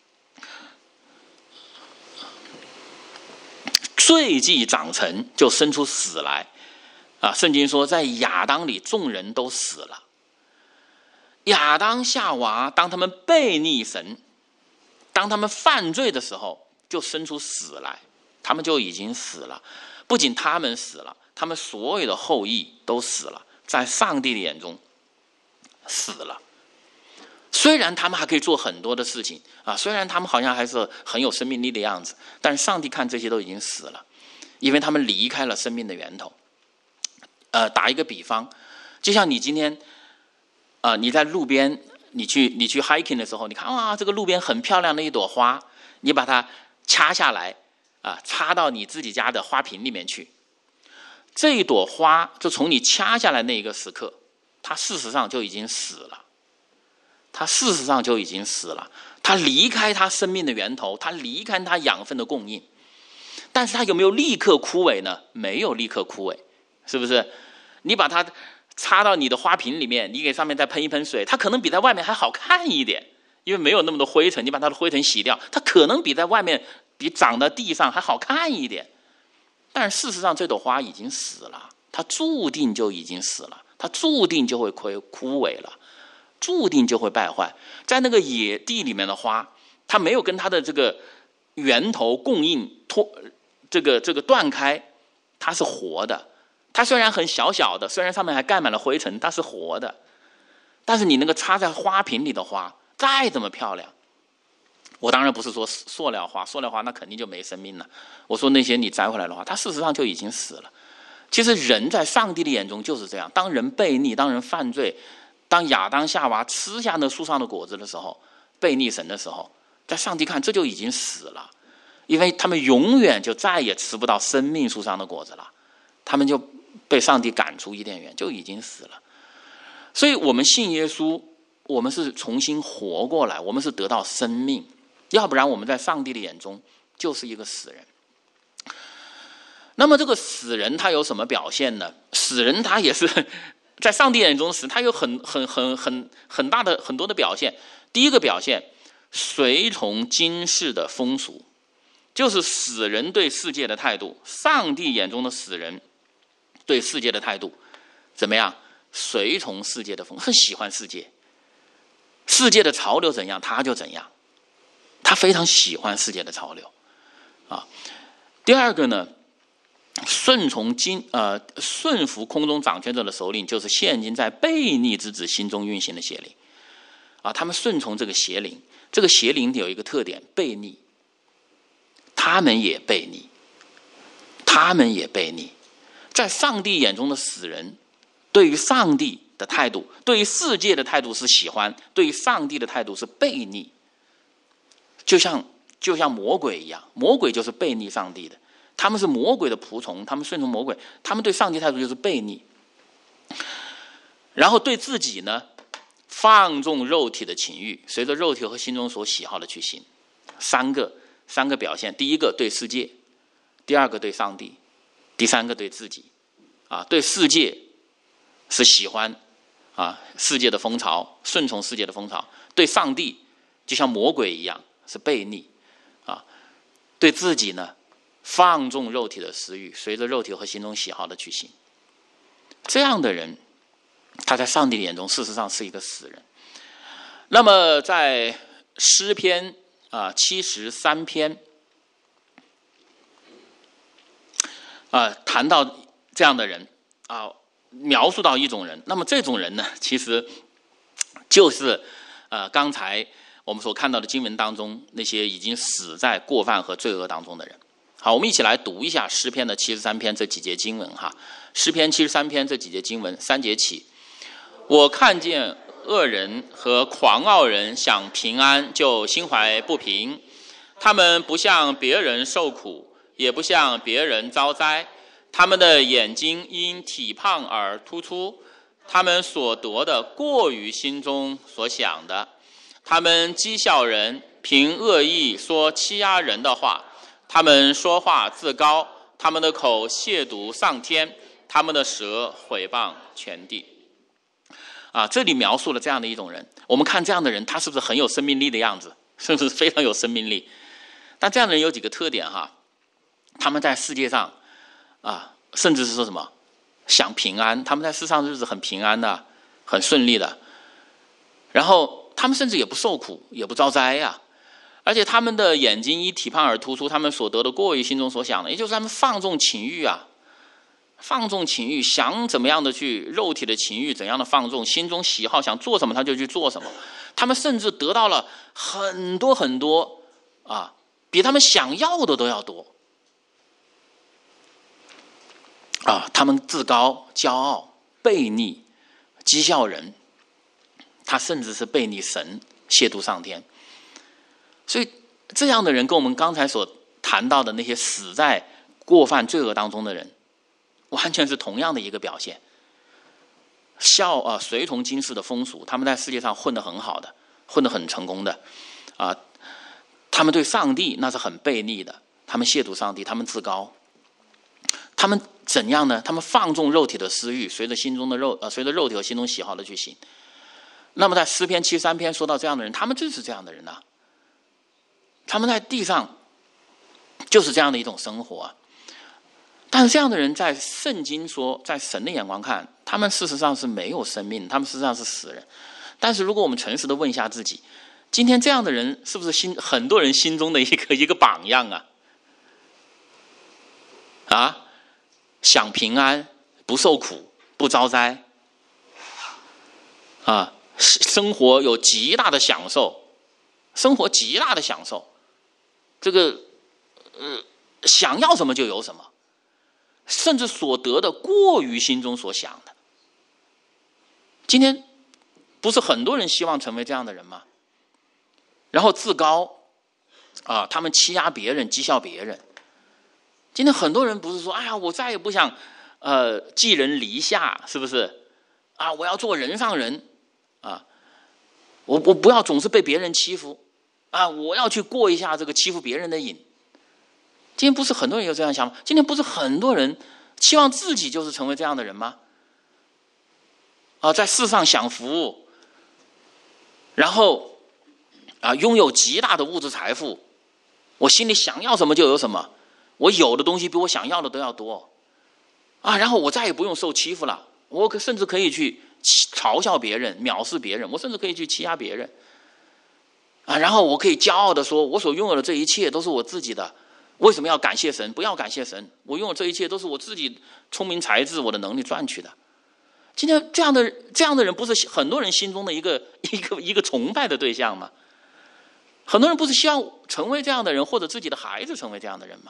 罪既长成，就生出死来。啊，圣经说，在亚当里众人都死了。亚当夏娃当他们悖逆神，当他们犯罪的时候，就生出死来，他们就已经死了。 不仅他们死了，他们所有的后裔都死了，在上帝的眼中死了。虽然他们还可以做很多的事情啊，虽然他们好像还是很有生命力的样子，但是上帝看这些都已经死了，因为他们离开了生命的源头。呃，打一个比方，就像你今天，呃，你在路边，你去你去 hiking 的时候，你看哇，这个路边很漂亮的一朵花，你把它掐下来啊，插到你自己家的花瓶里面去。这一朵花就从你掐下来那一个时刻，它事实上就已经死了。它事实上就已经死了，它离开它生命的源头，它离开它养分的供应。但是它有没有立刻枯萎呢？没有立刻枯萎，是不是？你把它插到你的花瓶里面，你给上面再喷一喷水，它可能比在外面还好看一点，因为没有那么多灰尘，你把它的灰尘洗掉，它可能比在外面比长在地上还好看一点。但是事实上这朵花已经死了，它注定就已经死了，它注定就会枯枯萎了，注定就会败坏。在那个野地里面的花，它没有跟它的这个源头供应脱这个这个断开，它是活的。它虽然很小小的，虽然上面还盖满了灰尘，它是活的。但是你那个插在花瓶里的花，再怎么漂亮，我当然不是说塑料花，塑料花那肯定就没生命了。我说那些你摘回来的花，它事实上就已经死了。其实人在上帝的眼中就是这样，当人悖逆，当人犯罪，当亚当夏娃吃下那树上的果子的时候，悖逆神的时候，在上帝看这就已经死了，因为他们永远就再也吃不到生命树上的果子了，他们就被上帝赶出伊甸园，就已经死了。所以我们信耶稣，我们是重新活过来，我们是得到生命，要不然我们在上帝的眼中就是一个死人。那么这个死人他有什么表现呢？死人他也是在上帝眼中死，他有很很很很很大的很多的表现。第一个表现，随从今世的风俗，就是死人对世界的态度。上帝眼中的死人对世界的态度怎么样？随从世界的风，很喜欢世界，世界的潮流怎样他就怎样，他非常喜欢世界的潮流啊。第二个呢，顺从今呃顺服空中掌权者的首领，就是现今在悖逆之子心中运行的邪灵啊。他们顺从这个邪灵，这个邪灵有一个特点，悖逆，他们也悖逆，他们也悖逆。在上帝眼中的死人，对于上帝的态度，对于世界的态度是喜欢，对于上帝的态度是悖逆。就像就像魔鬼一样，魔鬼就是悖逆上帝的，他们是魔鬼的仆从，他们顺从魔鬼，他们对上帝态度就是悖逆。然后对自己呢，放纵肉体的情欲，随着肉体和心中所喜好的去行。三个三个表现，第一个对世界，第二个对上帝，第三个对自己啊。对世界是喜欢啊世界的风潮，顺从世界的风潮；对上帝就像魔鬼一样是悖逆啊。对自己呢，放纵肉体的私欲，随着肉体和心中喜好的去行。这样的人，他在上帝的眼中事实上是一个死人。那么在诗篇啊七十三篇啊谈到这样的人啊，描述到一种人，那么这种人呢，其实就是呃刚才我们所看到的经文当中那些已经死在过犯和罪恶当中的人。好，我们一起来读一下诗篇的七十三篇这几节经文哈。诗篇七十三篇这几节经文，三节起，我看见恶人和狂傲人想平安，就心怀不平。他们不向别人受苦，也不向别人遭灾。他们的眼睛因体胖而突出，他们所得的过于心中所想的。他们讥笑人，凭恶意说欺压人的话。他们说话自高，他们的口亵渎上天，他们的舌毁谤全地。啊，这里描述了这样的一种人。我们看这样的人，他是不是很有生命力的样子？是不是非常有生命力？但这样的人有几个特点哈，他们在世界上啊，甚至是说什么想平安，他们在世上日子很平安的，很顺利的。然后他们甚至也不受苦，也不遭灾呀、 而且他们的眼睛一体胖而突出，他们所得的过于心中所想的，也就是他们放纵情欲啊，放纵情欲，想怎么样的去肉体的情欲怎样的放纵，心中喜好想做什么他就去做什么，他们甚至得到了很多很多啊，比他们想要的都要多啊，他们自高骄傲悖逆讥笑人，他甚至是悖逆神亵渎上天。所以这样的人跟我们刚才所谈到的那些死在过犯罪恶当中的人完全是同样的一个表现，效啊随从今世的风俗，他们在世界上混得很好的，混得很成功的啊，他们对上帝那是很悖逆的，他们亵渎上帝，他们自高，他们怎样呢？他们放纵肉体的私欲，随着心中的肉呃随着肉体和心中喜好的去行。那么在诗篇七十三篇说到这样的人，他们就是这样的人啊，他们在地上就是这样的一种生活啊。但是这样的人在圣经说，在神的眼光看，他们事实上是没有生命，他们事实上是死人。但是如果我们诚实的问一下自己，今天这样的人是不是心很多人心中的一个一个榜样啊？啊，享平安，不受苦，不遭灾，啊，生活有极大的享受，生活极大的享受，这个呃想要什么就有什么，甚至所得的过于心中所想的。今天不是很多人希望成为这样的人吗？然后自高啊，他们欺压别人，讥笑别人。今天很多人不是说，哎呀，我再也不想呃寄人篱下，是不是啊？我要做人上人啊，我我不要总是被别人欺负啊，我要去过一下这个欺负别人的瘾。今天不是很多人有这样想法，今天不是很多人期望自己就是成为这样的人吗？啊，在世上享福，然后啊拥有极大的物质财富，我心里想要什么就有什么，我有的东西比我想要的都要多啊，然后我再也不用受欺负了，我可甚至可以去嘲笑别人，藐视别人，我甚至可以去欺压别人啊，然后我可以骄傲的说，我所拥有的这一切都是我自己的。为什么要感谢神？不要感谢神，我拥有这一切都是我自己聪明才智我的能力赚取的。今天这样的这样的人不是很多人心中的一个一个一个崇拜的对象吗？很多人不是希望成为这样的人，或者自己的孩子成为这样的人吗？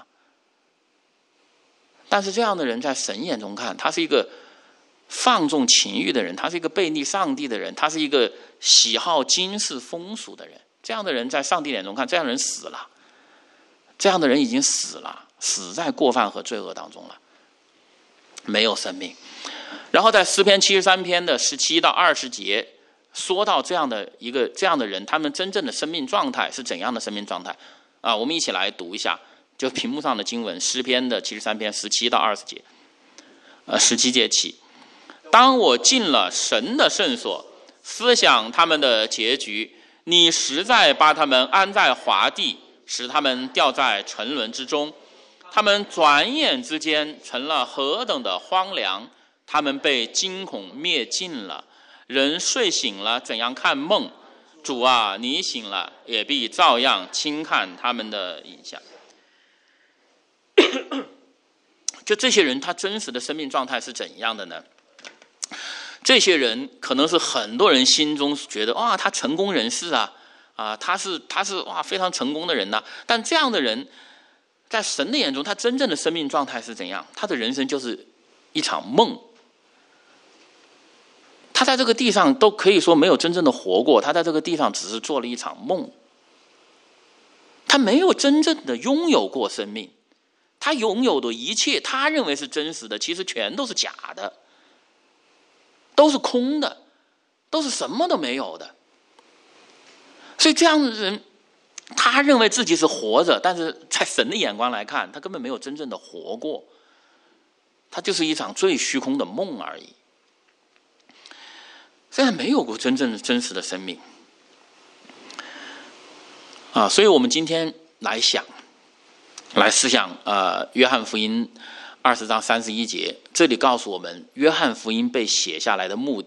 但是这样的人在神眼中看，他是一个放纵情欲的人，他是一个悖逆上帝的人，他是一个喜好今世风俗的人。这样的人在上帝眼中看，这样的人死了，这样的人已经死了，死在过犯和罪恶当中了，没有生命。然后在诗篇七十三篇的十七到二十节说到这样的一个这样的人，他们真正的生命状态是怎样的生命状态啊？我们一起来读一下，就屏幕上的经文，诗篇的七十三篇十七到二十节，呃，十七节起。当我进了神的圣所，思想他们的结局，你实在把他们安在华地，使他们掉在沉沦之中。他们转眼之间成了何等的荒凉，他们被惊恐灭尽了。人睡醒了，怎样看梦？主啊，你醒了，也必照样轻看他们的影像。就这些人，他真实的生命状态是怎样的呢？这些人可能是很多人心中觉得，哇，他成功人士啊，啊，他是他是哇非常成功的人呐、啊。但这样的人，在神的眼中，他真正的生命状态是怎样？他的人生就是一场梦。他在这个地上都可以说没有真正的活过，他在这个地上只是做了一场梦。他没有真正的拥有过生命，他拥有的一切，他认为是真实的，其实全都是假的，都是空的，都是什么都没有的。所以这样的人，他认为自己是活着，但是在神的眼光来看，他根本没有真正的活过，他就是一场最虚空的梦而已。虽然没有过真正的真实的生命啊，所以我们今天来想，来思想呃，约翰福音二十章三十一节，这里告诉我们，约翰福音被写下来的目的，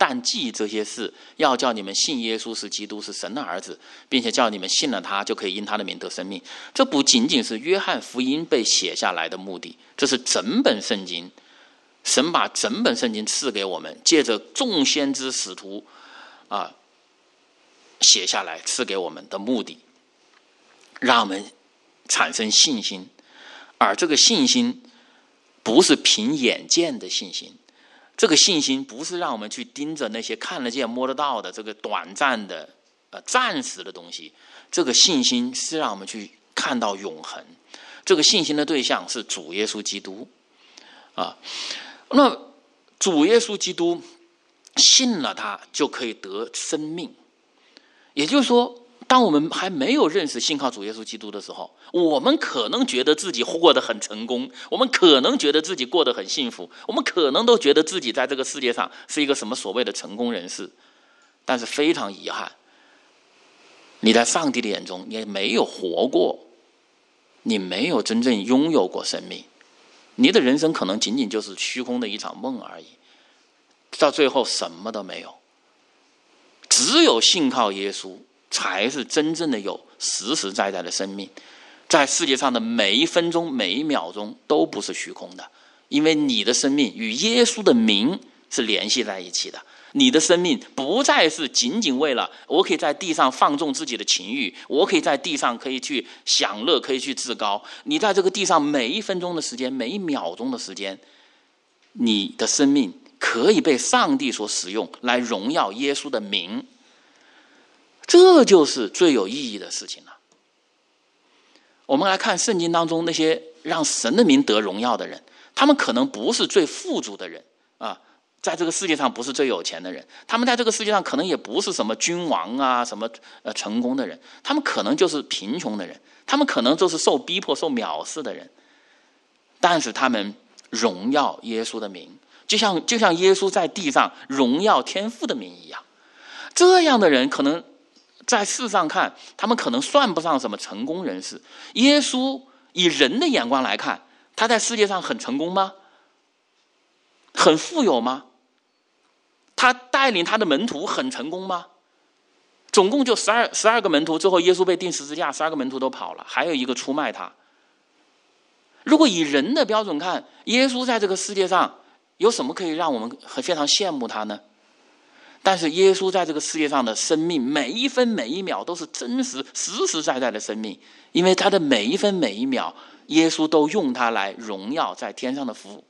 但记这些事，要叫你们信耶稣是基督，是神的儿子，并且叫你们信了他，就可以因他的名得生命。这不仅仅是约翰福音被写下来的目的，这是整本圣经，神把整本圣经赐给我们，借着众先知使徒啊写下来赐给我们的目的，让我们产生信心。而这个信心不是凭眼见的信心，这个信心不是让我们去盯着那些看得见摸得到的这个短暂的呃暂时的东西，这个信心是让我们去看到永恒。这个信心的对象是主耶稣基督啊。那主耶稣基督信了他就可以得生命，也就是说，当我们还没有认识信靠主耶稣基督的时候，我们可能觉得自己过得很成功，我们可能觉得自己过得很幸福，我们可能都觉得自己在这个世界上是一个什么所谓的成功人士。但是非常遗憾，你在上帝的眼中你没有活过，你没有真正拥有过生命，你的人生可能仅仅就是虚空的一场梦而已，到最后什么都没有。只有信靠耶稣才是真正的有实实在在的生命，在世界上的每一分钟每一秒钟都不是虚空的，因为你的生命与耶稣的名是联系在一起的。你的生命不再是仅仅为了我可以在地上放纵自己的情欲，我可以在地上可以去享乐，可以去自高。你在这个地上每一分钟的时间，每一秒钟的时间，你的生命可以被上帝所使用来荣耀耶稣的名，这就是最有意义的事情了。我们来看圣经当中那些让神的名得荣耀的人，他们可能不是最富足的人啊，在这个世界上不是最有钱的人，他们在这个世界上可能也不是什么君王啊，什么呃成功的人，他们可能就是贫穷的人，他们可能就是受逼迫受藐视的人，但是他们荣耀耶稣的名，就像就像耶稣在地上荣耀天父的名一样。这样的人可能在世上看，他们可能算不上什么成功人士。耶稣以人的眼光来看，他在世界上很成功吗？很富有吗？他带领他的门徒很成功吗？总共就十二十二个门徒，最后耶稣被钉十字架，十二个门徒都跑了，还有一个出卖他。如果以人的标准看，耶稣在这个世界上有什么可以让我们非常羡慕他呢？但是耶稣在这个世界上的生命，每一分每一秒都是真实实实在在的生命，因为他的每一分每一秒，耶稣都用它来荣耀在天上的父。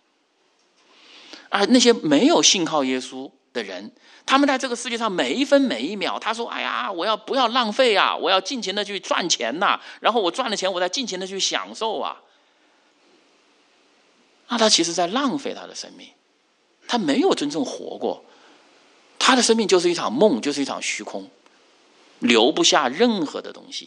而那些没有信靠耶稣的人，他们在这个世界上每一分每一秒，他说哎呀，我要不要浪费啊，我要尽情的去赚钱呐、啊，然后我赚了钱我再尽情的去享受啊，那他其实在浪费他的生命，他没有真正活过，他的生命就是一场梦，就是一场虚空，留不下任何的东西。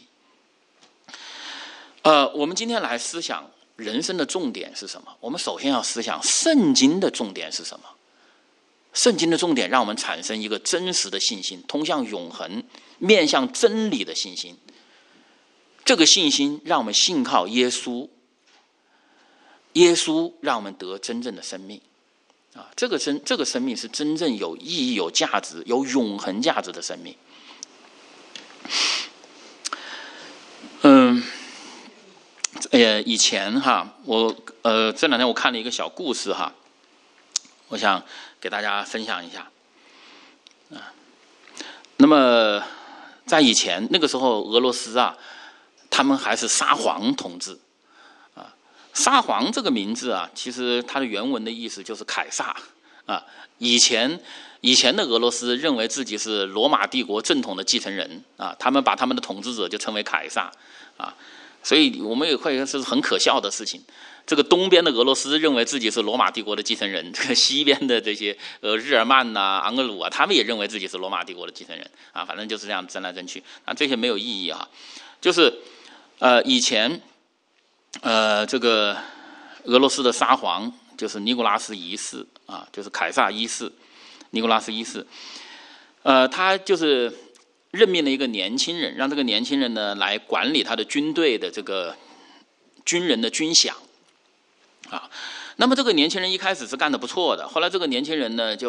呃，我们今天来思想人生的重点是什么？我们首先要思想圣经的重点是什么？圣经的重点让我们产生一个真实的信心，通向永恒、面向真理的信心。这个信心让我们信靠耶稣，耶稣让我们得真正的生命。啊，这个生这个生命是真正有意义、有价值、有永恒价值的生命。嗯。呃，以前哈，我呃这两天我看了一个小故事哈，我想给大家分享一下。啊，那么在以前那个时候，俄罗斯啊，他们还是沙皇统治啊。沙皇这个名字啊，其实它的原文的意思就是凯撒啊。以前以前的俄罗斯认为自己是罗马帝国正统的继承人啊，他们把他们的统治者就称为凯撒啊。所以我们也会是很可笑的事情。这个东边的俄罗斯认为自己是罗马帝国的继承人，这个西边的这些呃日耳曼呐、啊、昂格鲁啊，他们也认为自己是罗马帝国的继承人啊。反正就是这样争来争去啊，这些没有意义啊。就是呃以前呃这个俄罗斯的沙皇就是尼古拉斯一世啊，就是凯撒一世，尼古拉斯一世，呃他就是。任命了一个年轻人，让这个年轻人呢来管理他的军队的这个军人的军饷啊。那么这个年轻人一开始是干得不错的，后来这个年轻人呢就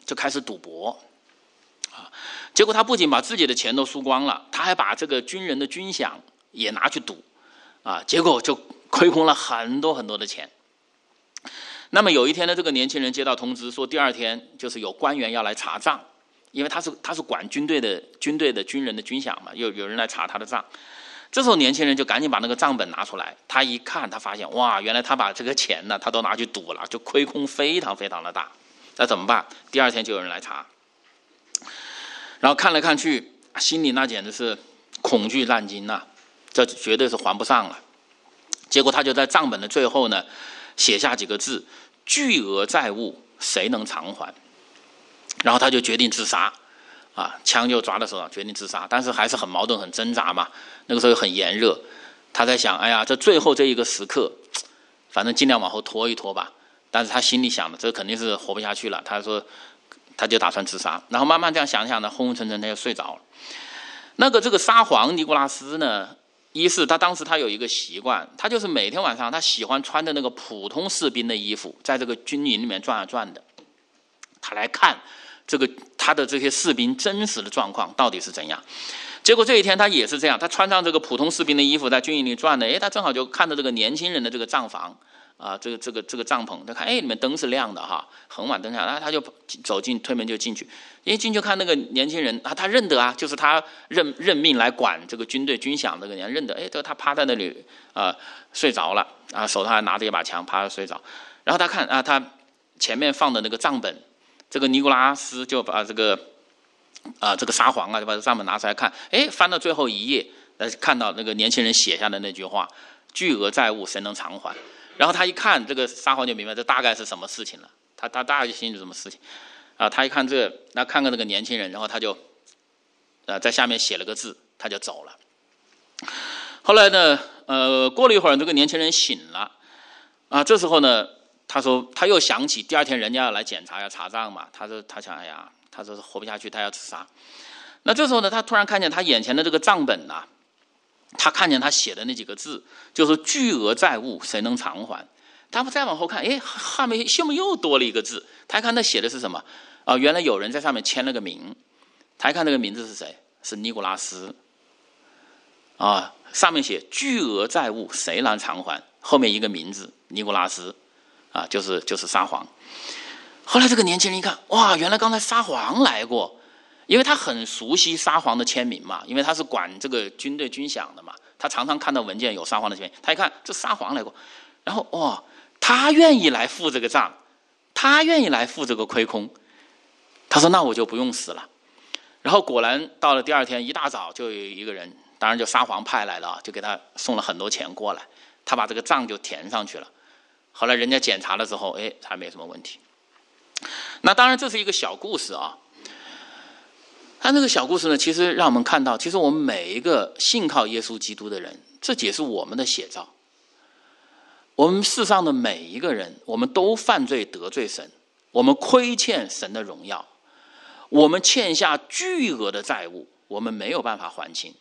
就开始赌博啊。结果他不仅把自己的钱都输光了，他还把这个军人的军饷也拿去赌啊，结果就亏空了很多很多的钱。那么有一天呢，这个年轻人接到通知说，第二天就是有官员要来查账，因为他是他是管军队的军队的军人的军饷嘛，有有人来查他的账。这时候年轻人就赶紧把那个账本拿出来，他一看，他发现哇，原来他把这个钱呢，他都拿去赌了，就亏空非常非常的大。那怎么办？第二天就有人来查，然后看来看去，心里那简直是恐惧烂惊呐、啊，这绝对是还不上了。结果他就在账本的最后呢，写下几个字：巨额债务，谁能偿还？然后他就决定自杀，啊，枪就抓在手上，决定自杀。但是还是很矛盾，很挣扎嘛。那个时候很炎热，他在想：哎呀，这最后这一个时刻，反正尽量往后拖一拖吧。但是他心里想的，这肯定是活不下去了。他说，他就打算自杀。然后慢慢这样想想呢，昏昏沉沉，他就睡着了。那个这个沙皇尼古拉斯呢，一是他当时他有一个习惯，他就是每天晚上他喜欢穿的那个普通士兵的衣服，在这个军营里面转啊转的，他来看这个他的这些士兵真实的状况到底是怎样。结果这一天他也是这样，他穿上这个普通士兵的衣服在军营里转的，诶，他正好就看到这个年轻人的这个帐房啊，这个这个这个帐篷，他看，哎，里面灯是亮的哈，很晚灯下，然后他就走进推门就进去，一进去看那个年轻人，啊，他认得啊，就是他任任命来管这个军队军饷这个人，认得，哎，这个他趴在那里啊、呃、睡着了啊，手上还拿着一把枪，趴着睡着，然后他看啊，他前面放的那个账本，这个尼古拉斯就把这个啊、呃、这个沙皇啊就把这账本拿出来看，哎，翻到最后一页，呃，看到那个年轻人写下的那句话：巨额债务谁能偿还？然后他一看，这个沙皇就明白这大概是什么事情了。他他大概就心里什么事情啊？他一看这个，那看看这个年轻人，然后他就呃在下面写了个字，他就走了。后来呢，呃，过了一会儿，这个年轻人醒了啊。这时候呢，他说他又想起第二天人家要来检查要查账嘛，他说他想，哎呀，他说活不下去，他要自杀。那这时候呢，他突然看见他眼前的这个账本呐、啊。他看见他写的那几个字，就是巨额债务谁能偿还？他们再往后看，哎，后面下面又多了一个字。他一看他写的是什么？啊，原来有人在上面签了个名。他一看那个名字是谁？是尼古拉斯。啊，上面写巨额债务谁能偿还？后面一个名字尼古拉斯，啊，就是就是沙皇。后来这个年轻人一看，哇，原来刚才沙皇来过。因为他很熟悉沙皇的签名嘛，因为他是管这个军队军饷的嘛，他常常看到文件有沙皇的签名，他一看这沙皇来过，然后哇、哦，他愿意来付这个账，他愿意来付这个亏空，他说那我就不用死了。然后果然到了第二天一大早，就有一个人，当然就沙皇派来的，就给他送了很多钱过来，他把这个账就填上去了。后来人家检查了之后，哎，还没什么问题。那当然这是一个小故事啊。他那个小故事呢，其实让我们看到，其实我们每一个信靠耶稣基督的人，这也是我们的写照。我们世上的每一个人，我们都犯罪得罪神，我们亏欠神的荣耀，我们欠下巨额的债务，我们没有办法还清。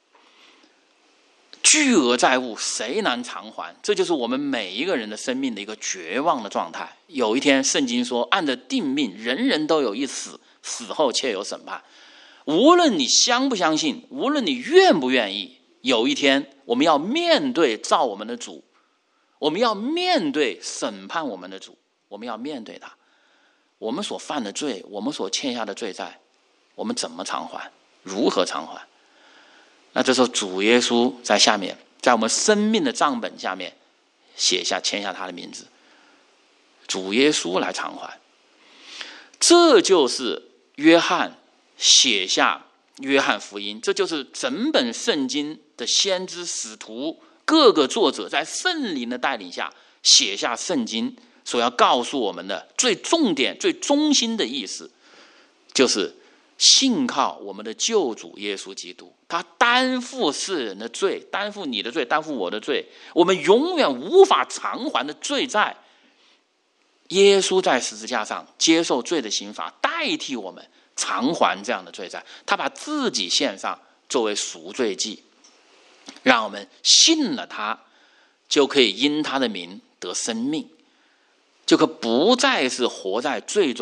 巨额债务谁能偿还？这就是我们每一个人的生命的一个绝望的状态。有一天，圣经说，按着定命，人人都有一死，死后且有审判。无论你相不相信，无论你愿不愿意，有一天我们要面对造我们的主，我们要面对审判我们的主，我们要面对他。我们所犯的罪，我们所欠下的罪债，我们怎么偿还？如何偿还？那这时候主耶稣在下面，在我们生命的账本下面写下签下他的名字，主耶稣来偿还。这就是约翰写下约翰福音，这就是整本圣经的先知使徒各个作者在圣灵的带领下写下圣经所要告诉我们的最重点最中心的意思，就是信靠我们的救主耶稣基督，他担负世人的罪，担负你的罪，担负我的罪，我们永远无法偿还的罪债，耶稣在十字架上接受罪的刑罚，代替我们偿还这样的罪债，他把自己献上作为赎罪祭，让我们信了他，就可以因他的名得生命，就可不再是活在罪中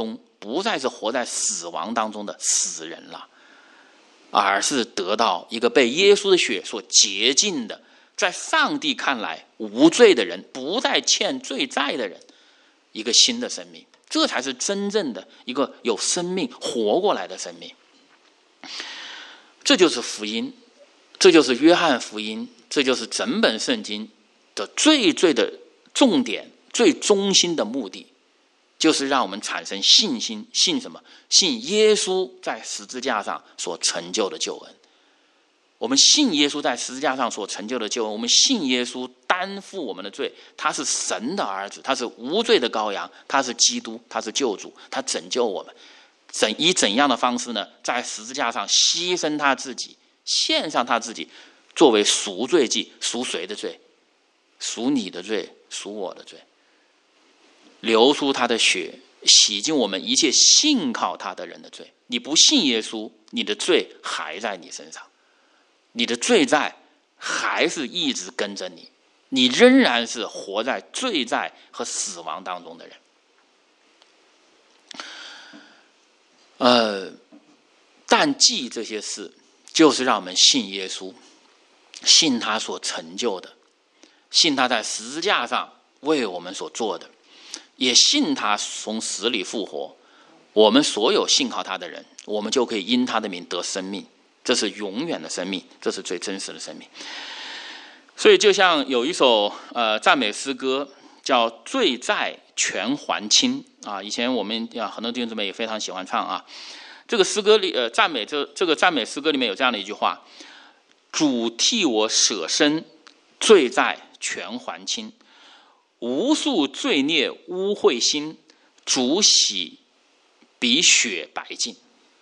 不再是活在死亡当中的死人了，而是得到一个被耶稣的血所洁净的，在上帝看来无罪的人，不再欠罪债的人，一个新的生命。这才是真正的一个有生命活过来的生命。这就是福音，这就是约翰福音，这就是整本圣经的最最的重点，最中心的目的，就是让我们产生信心。信什么？信耶稣在十字架上所成就的救恩。我们信耶稣在十字架上所成就的救恩，我们信耶稣担负我们的罪，他是神的儿子，他是无罪的羔羊，他是基督，他是救主，他拯救我们。怎以怎样的方式呢？在十字架上牺牲他自己，献上他自己，作为赎罪祭。赎谁的罪？赎你的罪，赎我的罪。流出他的血，洗净我们一切信靠他的人的罪。你不信耶稣，你的罪还在你身上，你的罪债还是一直跟着你，你仍然是活在罪债和死亡当中的人。呃，但记这些事，就是让我们信耶稣，信他所成就的，信他在十字架上为我们所做的，也信他从死里复活。我们所有信靠他的人，我们就可以因他的名得生命，这是永远的生命，这是最真实的生命。所以就像有一首呃赞美诗歌叫《罪债全还清》啊，以前我们啊很多弟兄姊妹也非常喜欢唱啊。这个诗歌里呃赞美这这个赞美诗歌里面有这样的一句话：主替我舍身，罪债全还清，无数罪孽污秽心，主洗比雪白净。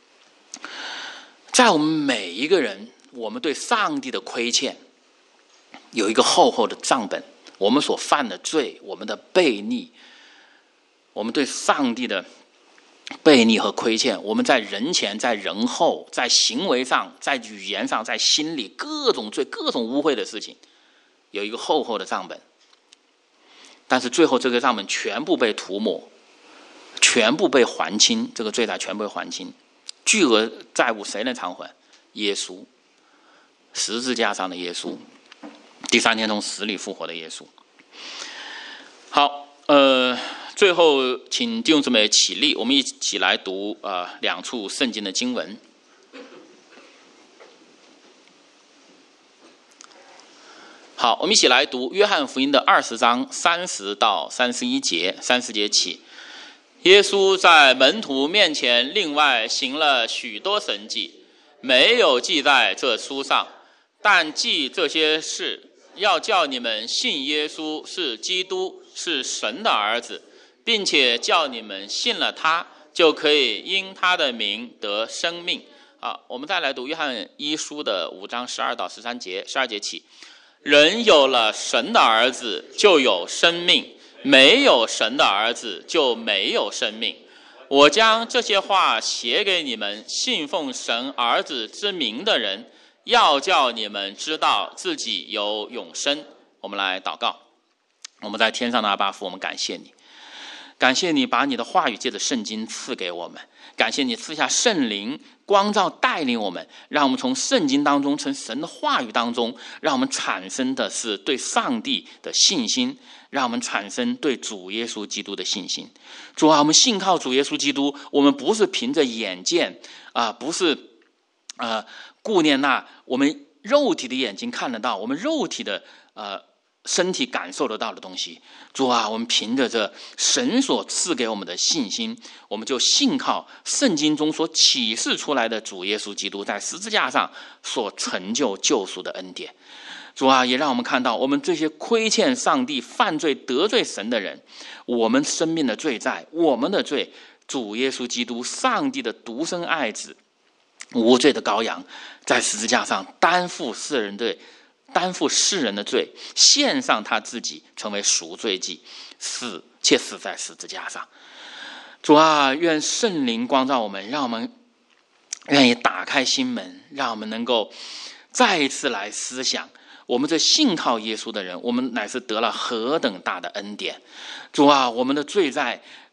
在我们每一个人，我们对上帝的亏欠有一个厚厚的账本，我们所犯的罪，我们的悖逆，我们对上帝的悖逆和亏欠，我们在人前，在人后，在行为上，在语言上，在心里，各种罪，各种污秽的事情，有一个厚厚的账本。但是最后这个账本全部被涂抹，全部被还清，这个罪债全部被还清。巨额债务谁能偿还？耶稣，十字架上的耶稣，第三天从死里复活的耶稣。好，呃，最后请弟兄姊妹起立，我们一起来读呃两处圣经的经文。好，我们一起来读约翰福音的二十章三十到三十一节，三十节起。耶稣在门徒面前另外行了许多神迹，没有记在这书上，但记这些事，要叫你们信耶稣是基督，是神的儿子，并且叫你们信了他，就可以因他的名得生命。啊，我们再来读约翰一书的五章十二到十三节，十二节起。人有了神的儿子，就有生命。没有神的儿子，就没有生命。我将这些话写给你们信奉神儿子之名的人，要叫你们知道自己有永生。我们来祷告。我们在天上的阿爸父，我们感谢你，感谢你把你的话语借着圣经赐给我们，感谢你赐下圣灵光照带领我们，让我们从圣经当中，从神的话语当中，让我们产生的是对上帝的信心，让我们产生对主耶稣基督的信心。主啊，我们信靠主耶稣基督，我们不是凭着眼见啊、呃，不是呃顾念那我们肉体的眼睛看得到，我们肉体的呃身体感受得到的东西。主啊，我们凭着这神所赐给我们的信心，我们就信靠圣经中所启示出来的主耶稣基督在十字架上所成就救赎的恩典。主啊，也让我们看到我们这些亏欠上帝、犯罪得罪神的人，我们生命的罪债，我们的罪，主耶稣基督上帝的独生爱子无罪的羔羊，在十字架上担负世人罪，担负世人的罪，献上他自己成为赎罪祭，死且死在十字架上。主啊，愿圣灵光照我们，让我们愿意打开心门，让我们能够再一次来思想，我们这信靠耶稣的人，我们乃是得了何等大的恩典。主啊，我们的罪债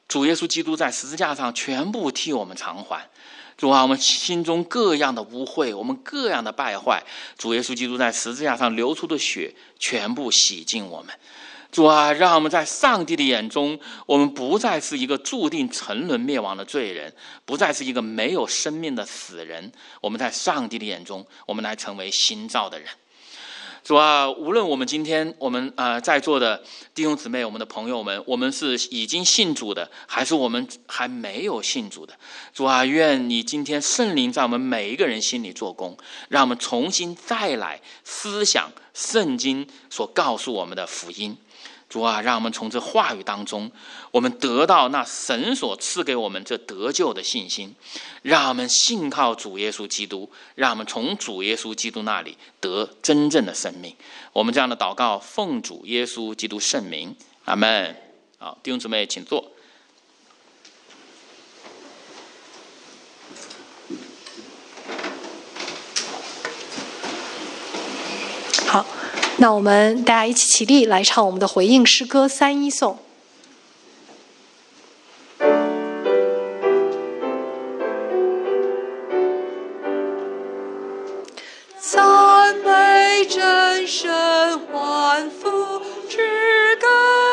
主耶稣基督在十字架上全部替我们偿还。主啊，我们心中各样的污秽，我们各样的败坏，主耶稣基督在十字架上流出的血全部洗净我们。主啊，让我们在上帝的眼中，我们不再是一个注定沉沦灭亡的罪人，不再是一个没有生命的死人，我们在上帝的眼中，我们来成为新造的人。主啊，无论我们今天我们呃在座的弟兄姊妹，我们的朋友们，我们是已经信主的，还是我们还没有信主的，主啊，愿你今天圣灵在我们每一个人心里做工，让我们重新再来思想圣经所告诉我们的福音。主啊，让我们从这话语当中，我们得到那神所赐给我们这得救的信心，让我们信靠主耶稣基督，让我们从主耶稣基督那里得真正的生命。我们这样的祷告，奉主耶稣基督圣名，阿们。好，弟兄姊妹，请坐。 好，那我们大家一起起立来唱我们的回应诗歌三一颂。赞美真神万福之根，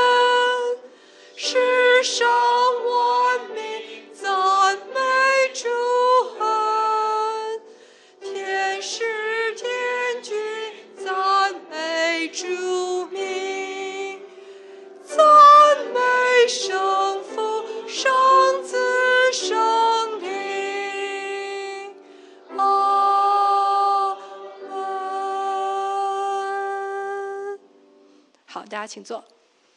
世上万民赞美主恩，天使天君赞美主名，赞美圣父圣子圣灵。阿门。好，大家请坐。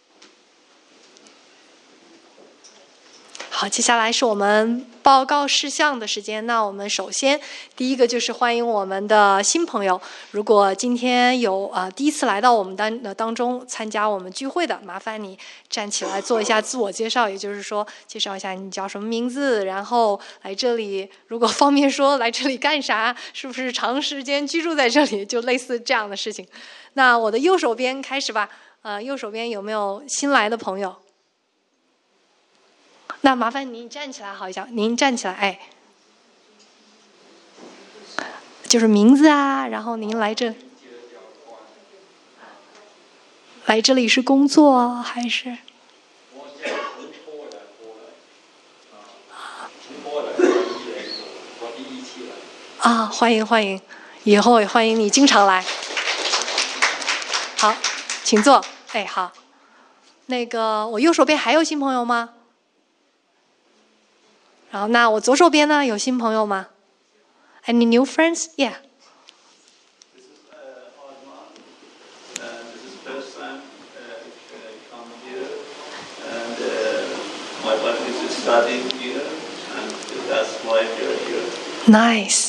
好，接下来是我们报告事项的时间。那我们首先第一个就是欢迎我们的新朋友。如果今天有呃第一次来到我们当呃当中参加我们聚会的，麻烦你站起来做一下自我介绍，也就是说介绍一下你叫什么名字，然后来这里如果方便说来这里干啥，是不是长时间居住在这里，就类似这样的事情。那我的右手边开始吧。呃，右手边有没有新来的朋友？那麻烦您站起来好一下，您站起来，哎，就是名字啊，然后您来这，来这里是工作还是？啊，欢迎欢迎，以后也欢迎你经常来。好，请坐。哎，好，那个我右手边还有新朋友吗？然后，那我左手边呢？有新朋友吗 ？Any new friends? Yeah. This is uh, Arman. Uh, this is first time uh, come here, and uh, my wife is studying here, and that's why we are here. Nice.